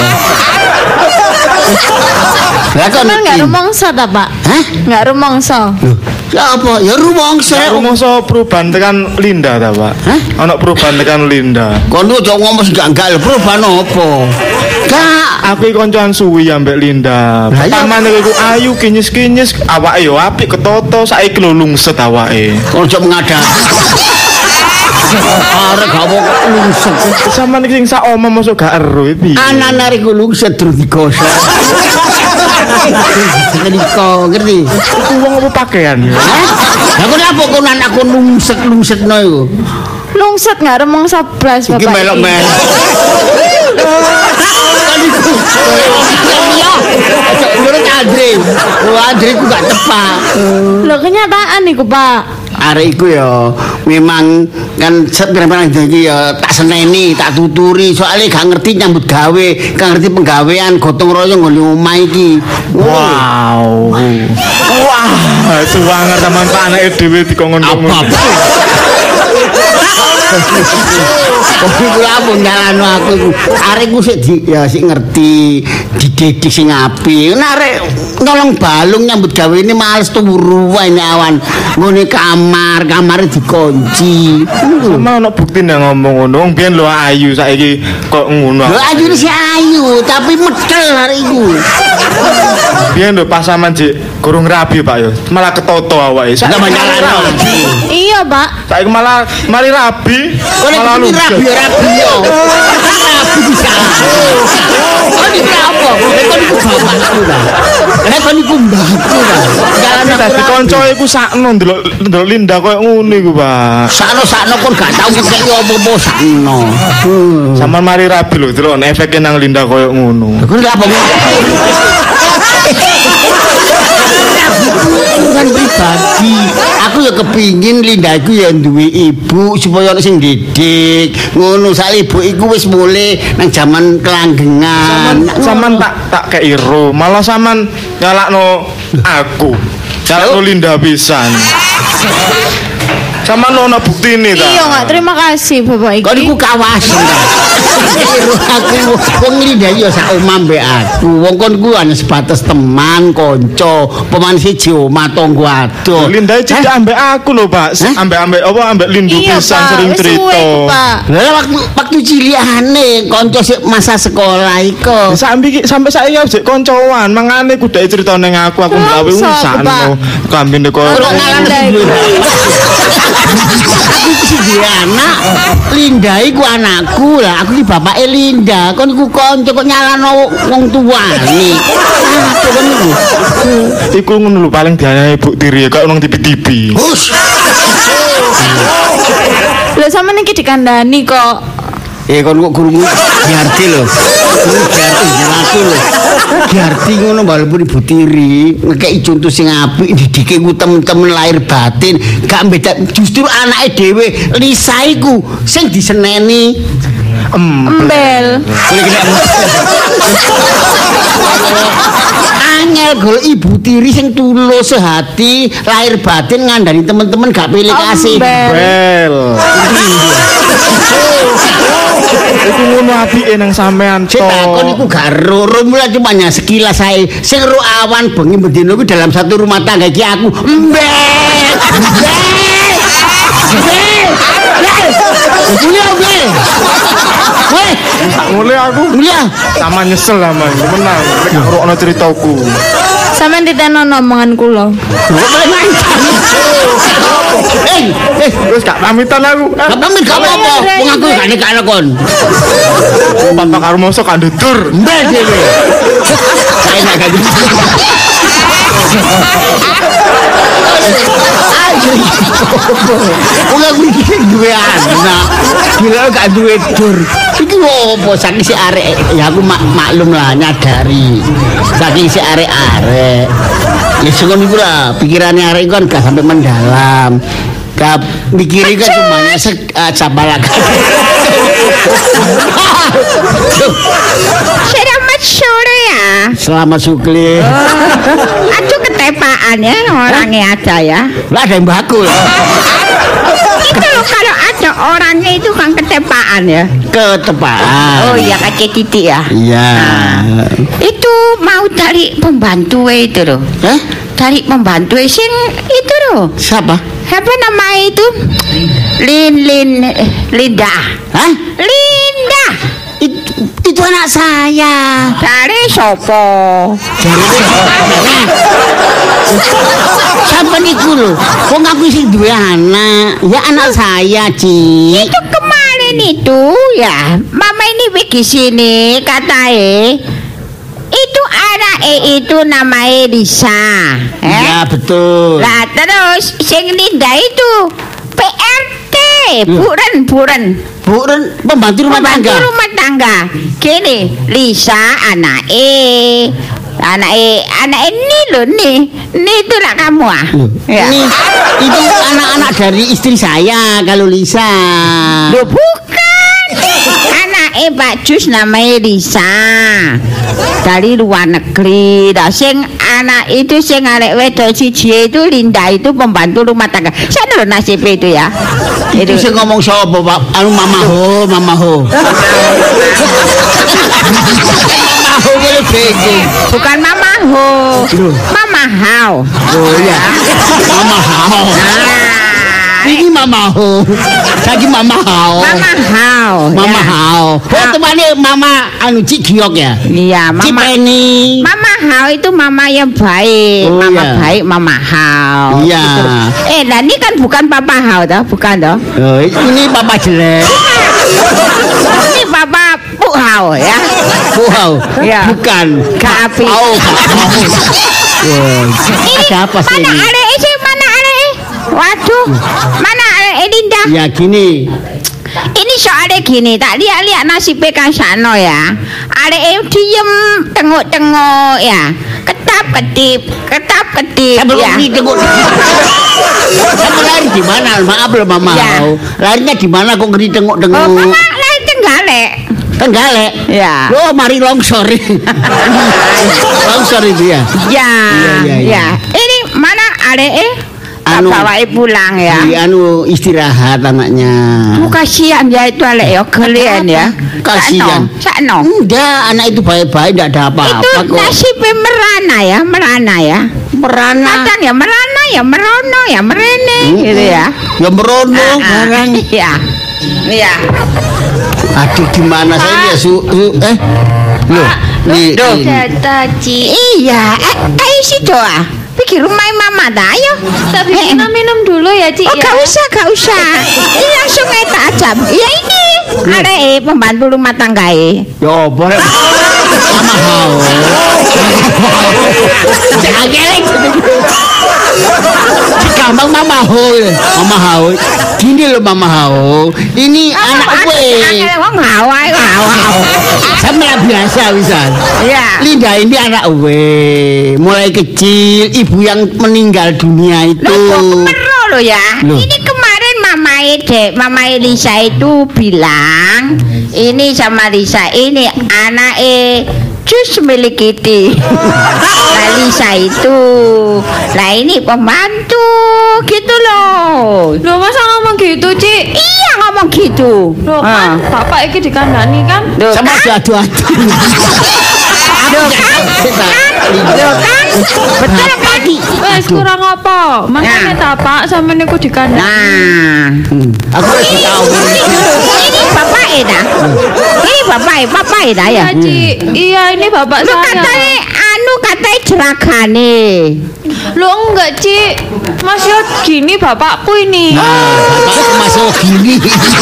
Lah kon Kan nggak rumongso ta, Pak? Hah? Nggak rumongso. Loh, ya apa? Ya rumongso. Rumangsa perubahan tekan Linda ta, Pak? Hah? Ana perubahan tekan Linda. Kon ojo ngomong sing gak perubahan apa? Kak, Aku iki koncoan suwi ambek Linda. Lah, iya. Pertamane iku ayu kinyis-kinyis, awake yo apik ketoto, saiki lho lungset awake. ojo mengadak. Arek gak mau lungset. Sampeyan iki sing sak omong masuk gak ero piye? Anak-anak iku lungset terus digosok. Setrika, ngerti? Iku wong apa pakaian ya? Hah? Lah kok apa kon anakku lungset-lungsetno iku? Lungset nggak rumongso blas, Bapak. Iki melok-melok. Iya. Ojo menurut Andre. Oh, Andre ku gak tepat. Loh kenyataan niku, Pak. Arek iku ya memang kan pirang-pirang iki ya tak seneni, tak tuturi soalnya gak ngerti nyambut gawe, gak ngerti penggawean gotong royong nggone omah iki. Wow. Wah, itu banget sampean Pak anake dhewe dikongkon-kongkon. Apa? Kok iku apa nyalano aku iku. Arekku sik sik ngerti, dididik sing apik. Nek arek nolong balung nyambut gawe ini males turu wae awan. Ngene kamare dikunci. Sama ono bukti nang ngomong ngono. Wong biyen lho ayu saiki kok ngono. Lho ayu si ayu tapi medel hari iku. Biyen lho pas sampean jek kurung rabi, Pak yo. Malah ketoto awake. Sudah nyalano. Iya, Pak. Saiki malah mari rabi, malah Ini lungset. rabi yo. Rabi bisa. Oh ini apa? Kon iku bapakku ta. Kon iku mbahku ta. Jalan Dadi kanca iku sakno ndelok Linda koyo ngono iku, Pak. sakno kon gak tau ngekeki apa-apa sakno. Sampeyan mari rabi lho, delok efeke nang Linda koyo ngono. Kon lha apa? Kan pribadi, aku ya kepingin Linda iku ya duwe ibu supaya ana sing didik. Ngono sak ibu iku wis mulai nang jaman kelanggengan. Sampeyan tak kei ro, malah sampeyan nyalakno aku. Nyalakno Linda pisan. Sampeyan ono buktine ta? Iya, nggak terima kasih, Bapak iki. Kon iku kawasan ta. Aku wong Linda ya sak omah mbek aku. Wong kon ku hanya sebatas teman, kanca, pemain siji omah tanggo adoh. Linda cedek ambek aku lho, Pak. Ambek apa ambek Lindu Iya, pisan Pak. sering Wis suwe cerita. iku, Pak. Lah waktu cilikane kanca masa sekolah iku. Sampai saya jek koncoan, mangane kudu cerita ning aku gawe Masa, urusan Pak? kambine kok. Ora Linda iku. Aku iki duwe anak, Linda iku anakku lah. Aku iki bapake Linda. Kon iku kanca kok nyalano wong tuane. Apa kon iku? Iku ngono lho paling dianyai ibu tiri kok nang TV-TV. Hus. Lah sama niki dikandani kok. Kon kok guru Giarti lho. Giarti jenatu lho. Giarti ngono walaupun ibu tiri ngekeki contoh sing apik didike ku temen-temen lahir batin, gak beda justru anake dhewe Lisa iku sing diseneni. Embel. Angel golek ibu tiri sing tulus sehati, lahir batin ngandani temen-temen gak pilih kasih. Embel. Bel. Iku ngono apike nang sampean to. Sik takon iku gak ro mulai cuma sekilas sae. Sing ro awan bengi bendino kuwi dalam satu rumah tangga iki aku. Mulai aku. Iya. Sama nyesel sama menang. Nek ngrungokno ceritaku. Sampeyan diteno omongan kula. Wis gak pamitan aku. Gak pamit gak apa-apa. Wong aku gak nekakno kon. Papa karo mosok gak ndudur. Mbak dhewe. Saya nak gak gitu. Wong aku iki duwe anak. Gila gak duwe dur. Iki opo saking si arek ya aku maklum lah nyadari. Saking si arek-arek. Ya sing iku lah pikirane arek kan gak sampai mendalam. Gak mikiri kan cuma sabalak. Selamat sore ya. Selamat sukli. Aduh ketepaan ya orangnya ada ya. Lah ada yang bakul. Itu loh kalau ada orangnya itu kan ketepaan ya. Ketepaan. Oh iya kaki titik ya. Iya. Itu mau cari pembantu itu loh. Hah? Cari pembantu sing itu loh. Siapa? Apa nama itu? Linda. Hah? Linda. Itu anak saya. Dari sopo? Siapa niku lho? Wong aku sing duwe anak. Ya anak saya, Ci. Itu kemarin itu ya, mama ini pergi sini katanya itu anak itu namanya Lisa. Ya betul. Lah terus sing Linda itu PRT, buren. Bukan pembantu rumah tangga. Pembantu rumah tangga. Gini, Lisa anake ini loh nih itu lah kamu ah. Ya. Ini itu anak-anak dari istri saya kalau Lisa. Loh bukan. Anake Pak Jus namanya Lisa. Dari luar negeri. Lah sing anak itu sing arek wedok siji itu Linda itu pembantu rumah tangga. Sana lho nasib itu ya. Itu sing ngomong sapa, Pak? Anu Mama Ho. Mama Ho boleh bingung. Bukan Mama Ho. Mama Hao. Oh iya. Mama Hao. Ini Mama Ho. Lagi Mama Hao. Mama Hao. Mama Ya. Hao. Oh temane Mama anu Cik Giok ya? Iya, Mama. Cipeni. Mama Hao itu mama yang baik. Oh, Mama iya. baik, Mama Hao. Iya. Gitu. Nah ini kan bukan Papa Hao toh, bukan toh? Oh, ini Papa jelek. Ini Papa Bu Hao ya. Wow. Iya. Bukan. Kapi. Oh, ada apa sih Mana ini? arek sih? Mana arek? Waduh. Mana arek Linda? Ya gini. Ini soalnya gini, tak lihat nasibnya Kasano ya. Arek diem, tengok-tengok ya. Ketap-ketip Sebelum ya. ditengok. Kamu lari di mana? Maaf loh Mama. Ya. Larinya di mana kok ngeri tengok-tengok? Oh, mama lain Tenggalek. Tenggalek. Ya. Oh, mari longsor. Longsor itu ya. Ya. Iya. Ya. Ini mana arek Anu. bawa pulang ya. Di anu istirahat anaknya. Oh, kasihan ya itu arek ya, kalian ya. Kasihan. Sakno. Enggak, anak itu baik-baik, enggak ada apa-apa Itu kok. nasibnya merana ya. Merana. Kadang ya merana ya merono ya merene gitu ya. Ya merono barang. Iya. Iya. Aduh gimana saya ya Loh, nih. Ci. Iya, ayo sih doa. Pikir rumah mama dah, ayo. Tapi minum dulu ya, Ci. Oh, Ya. gak usah. Ini langsung eta aja. Ya ini. Ada pembantu rumah tangga Yo, boleh. Mama Hao. Jangan geleng. Gampang Mama Hao. Mama Hao. Gini loh Mama Hao. Ini anak gue. Wong hawa. Sama biasa wisan. Iya. Linda ini anak gue. Mulai kecil ibu yang meninggal dunia itu. Loh, kemero lo ya. Loh. Ini kemarin Mama Lisa itu bilang, ini sama Lisa ini anak Jus milik Kitty. Nah Lisa itu, nah ini pembantu gitu loh. Loh, masa ngomong gitu, Ci? Iya ngomong gitu. gitu. Loh kan bapak iki dikandani kan? Loh, Sama adu-adu. betul kan? Wes kurang apa? Makanya tak Pak sampe niku dikandani. Nah, Aku wis tahu. ini bapak dah. Ini bapak dah ya. Iya, Ci. Iya, ini bapak Lu saya. katanya jeragane. Lu enggak, Ci. Mas yo gini bapakku ini. Bapakku masuk gini.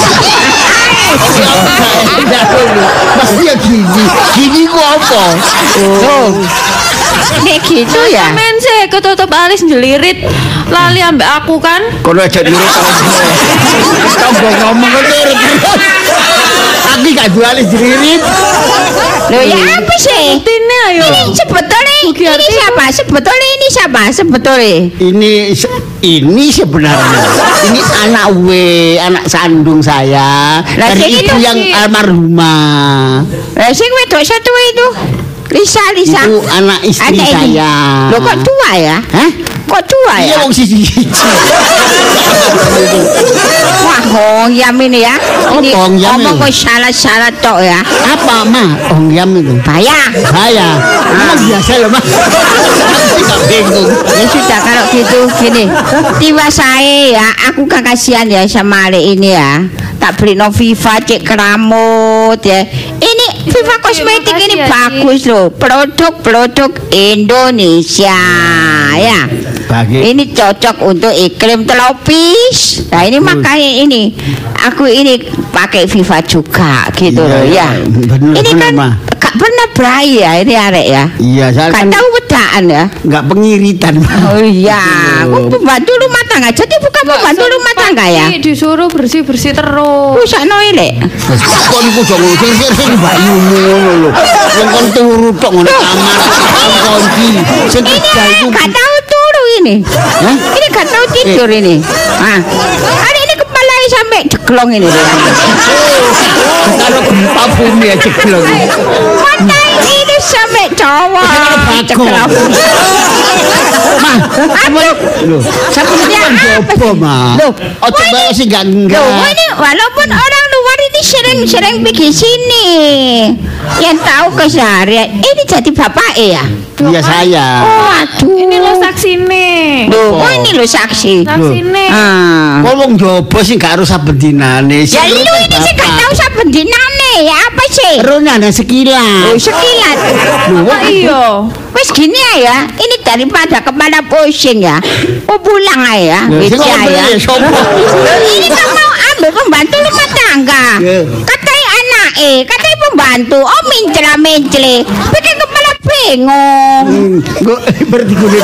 Pasti ya gini. Gini ku apa? Oh. Nek gitu ya. Men sih ketutup alis njelirit. Lali ambek aku kan. Kono aja diri tambah ngomong kok aku gak jualis diririt. Loh ya apa sih? Tine ayo. Ini sebetulnya ini siapa? Sebetulnya ini siapa? Sebetulnya Ini sebenarnya ini anak sandung saya Lah, dari sing ibu itu yang sih. almarhumah. sing wedok satu itu. Lisa. Itu anak istri Ada ini. saya. Loh kok tua ya? Hah? Kok tua Iya ya? wong siji. Wah, hongyam ini ya. Ini hongyam ngomong itu? kok salah tok ya. Apa mah? Ongyam itu. Bayar. Saya. Memang biasa loh mah. Tidak bingung. Ya sudah kalau gitu gini. Tiba saya ya, aku kan kasihan ya sama Ale ini ya. Tak beli no Viva cek keramut ya. Ini Viva kosmetik makasih ini ya, Ci. bagus loh. Produk Indonesia ya. Bagi Ini cocok untuk iklim tropis. Nah ini makanya ini aku ini pakai Viva juga gitu Iya, loh ya. bener, Ini bener, kan Ma. gak pernah berai ya ini arek ya. iya, saya Gak kan tahu bedaan ya. nggak pengiritan. Oh iya, Gitu. aku pembantu rumah tangga. Jadi bukan pembantu rumah tangga ya. Disuruh bersih-bersih terus. Usah noile. Kok niku dong sing bayu ngono lho. Wong kon turu tok ngono kamar. Kunci. Sing kerja itu Gak tahu turu ini. Hah? Ini gak tahu tidur ini. Ah, hari ini kepala sampai jeglong ini. kalau gempa bumi aja gelong. Mata ini sampai cowok. Jeglong. Mah, lho, Sebenarnya kan apa jopo, sih? Mah. Loh, Ojo bae sing gak enggak. Loh, ini walaupun orang luar ini sering pergi sini, yang tahu keseharian ini jadi bapak ya. Iya saya. Waduh. Ini lo saksi nih. Loh, oh ini lo saksi. Saksi nih. Ah. Ngomong jopo sing gak harus saben dinane. Ya lu ini sih gak tahu saben dinane ya apa sih? Rona ada sekilas. Oh sekilas. Oh iya. Wes gini ya, ini daripada kepala pusing ya. Oh pulang aja ya, Sing Wija ngomong ya. ya sopo? Ini kan mau ambil pembantu rumah tangga. Ya. Katanya anak katanya pembantu. Oh mencela. Bikin kepala bingung. Kok berarti gue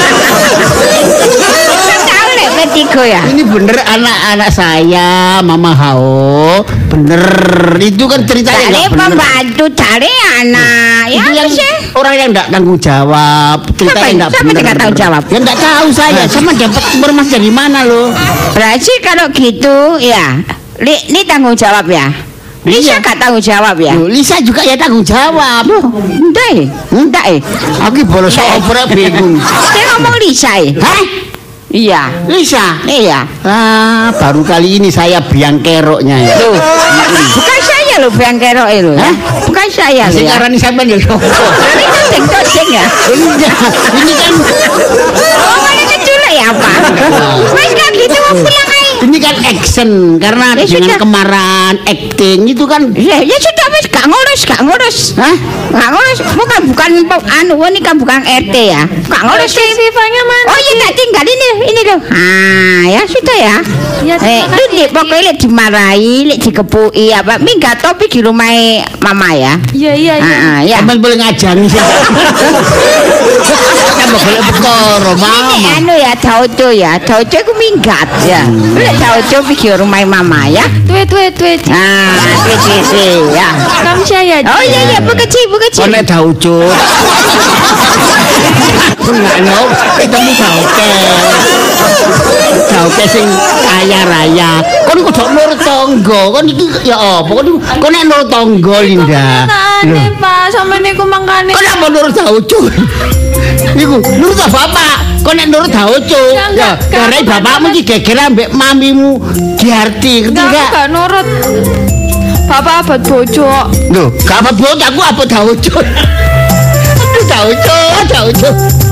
Tahu lek bertiga ya. ini bener anak-anak saya, Mama Hao. Bener. Itu kan ceritanya Cari nggak bener. pembantu, cari anak. Ya Itu apa yang sih? orang yang enggak tanggung jawab. Ceritanya enggak Siapa bener. tidak tanggung jawab? Ya enggak tahu saya. Sama dapat informasi dari mana loh? Berarti kalau gitu ya, ini tanggung jawab ya. Lisa Iya. gak tanggung jawab ya. Loh, Lisa juga ya tanggung jawab. Enggak Aku bolos opera bingung. Saya ngomong Lisa Hah? Iya. Lisa? Iya. Ah, baru kali ini saya biang keroknya ya. Loh, bukan saya loh biang kerok itu. Hah? Bukan saya loh ya. Sekarang ini sampean ya sopo? Ini todeng ya. Ini kan Oh, mana keculek ya apa? Mas gak gitu mau pulang aja. ini kan action karena Ya dengan sudah. kemarahan acting itu kan Ya sudah wis gak ngurus. Hah? Gak ngurus. Bukan anu ini kan bukan RT ya. Gak ngurus. Vivanya mana? Oh iya tak tinggal ini loh. Ah ya sudah ya. Ya, terima Lu kasih, pokoknya lek dimarahi, lek dikepui apa, minggat topi di rumah mama ya. Iya iya iya. Ya. sampean boleh ngajangi sih. Sampai boleh perkara Ini mama. anu ya Daudo aku minggat ya. Lek Daudo pergi rumah mama ya. Tweet. Nah, itu ya. Kamu saya. Oh iya bekeci. Konek daucut. Enggak no, ketemu dauket. Jauke sing kaya raya. Kon kudu nurut tangga. Kon iki ya apa? Kon nek nurut tangga Linda. Aneh, Pak, sampe niku mangkane. Kon apa nurut Daucu? Iku nurut bapak. Kon nek nurut Daucu. Ya, karena bapakmu iki geger ambek mamimu Giarti. Enggak nurut. Bapak abot bojo. Lho, gak apa bojo aku apa Daucu. Daucu.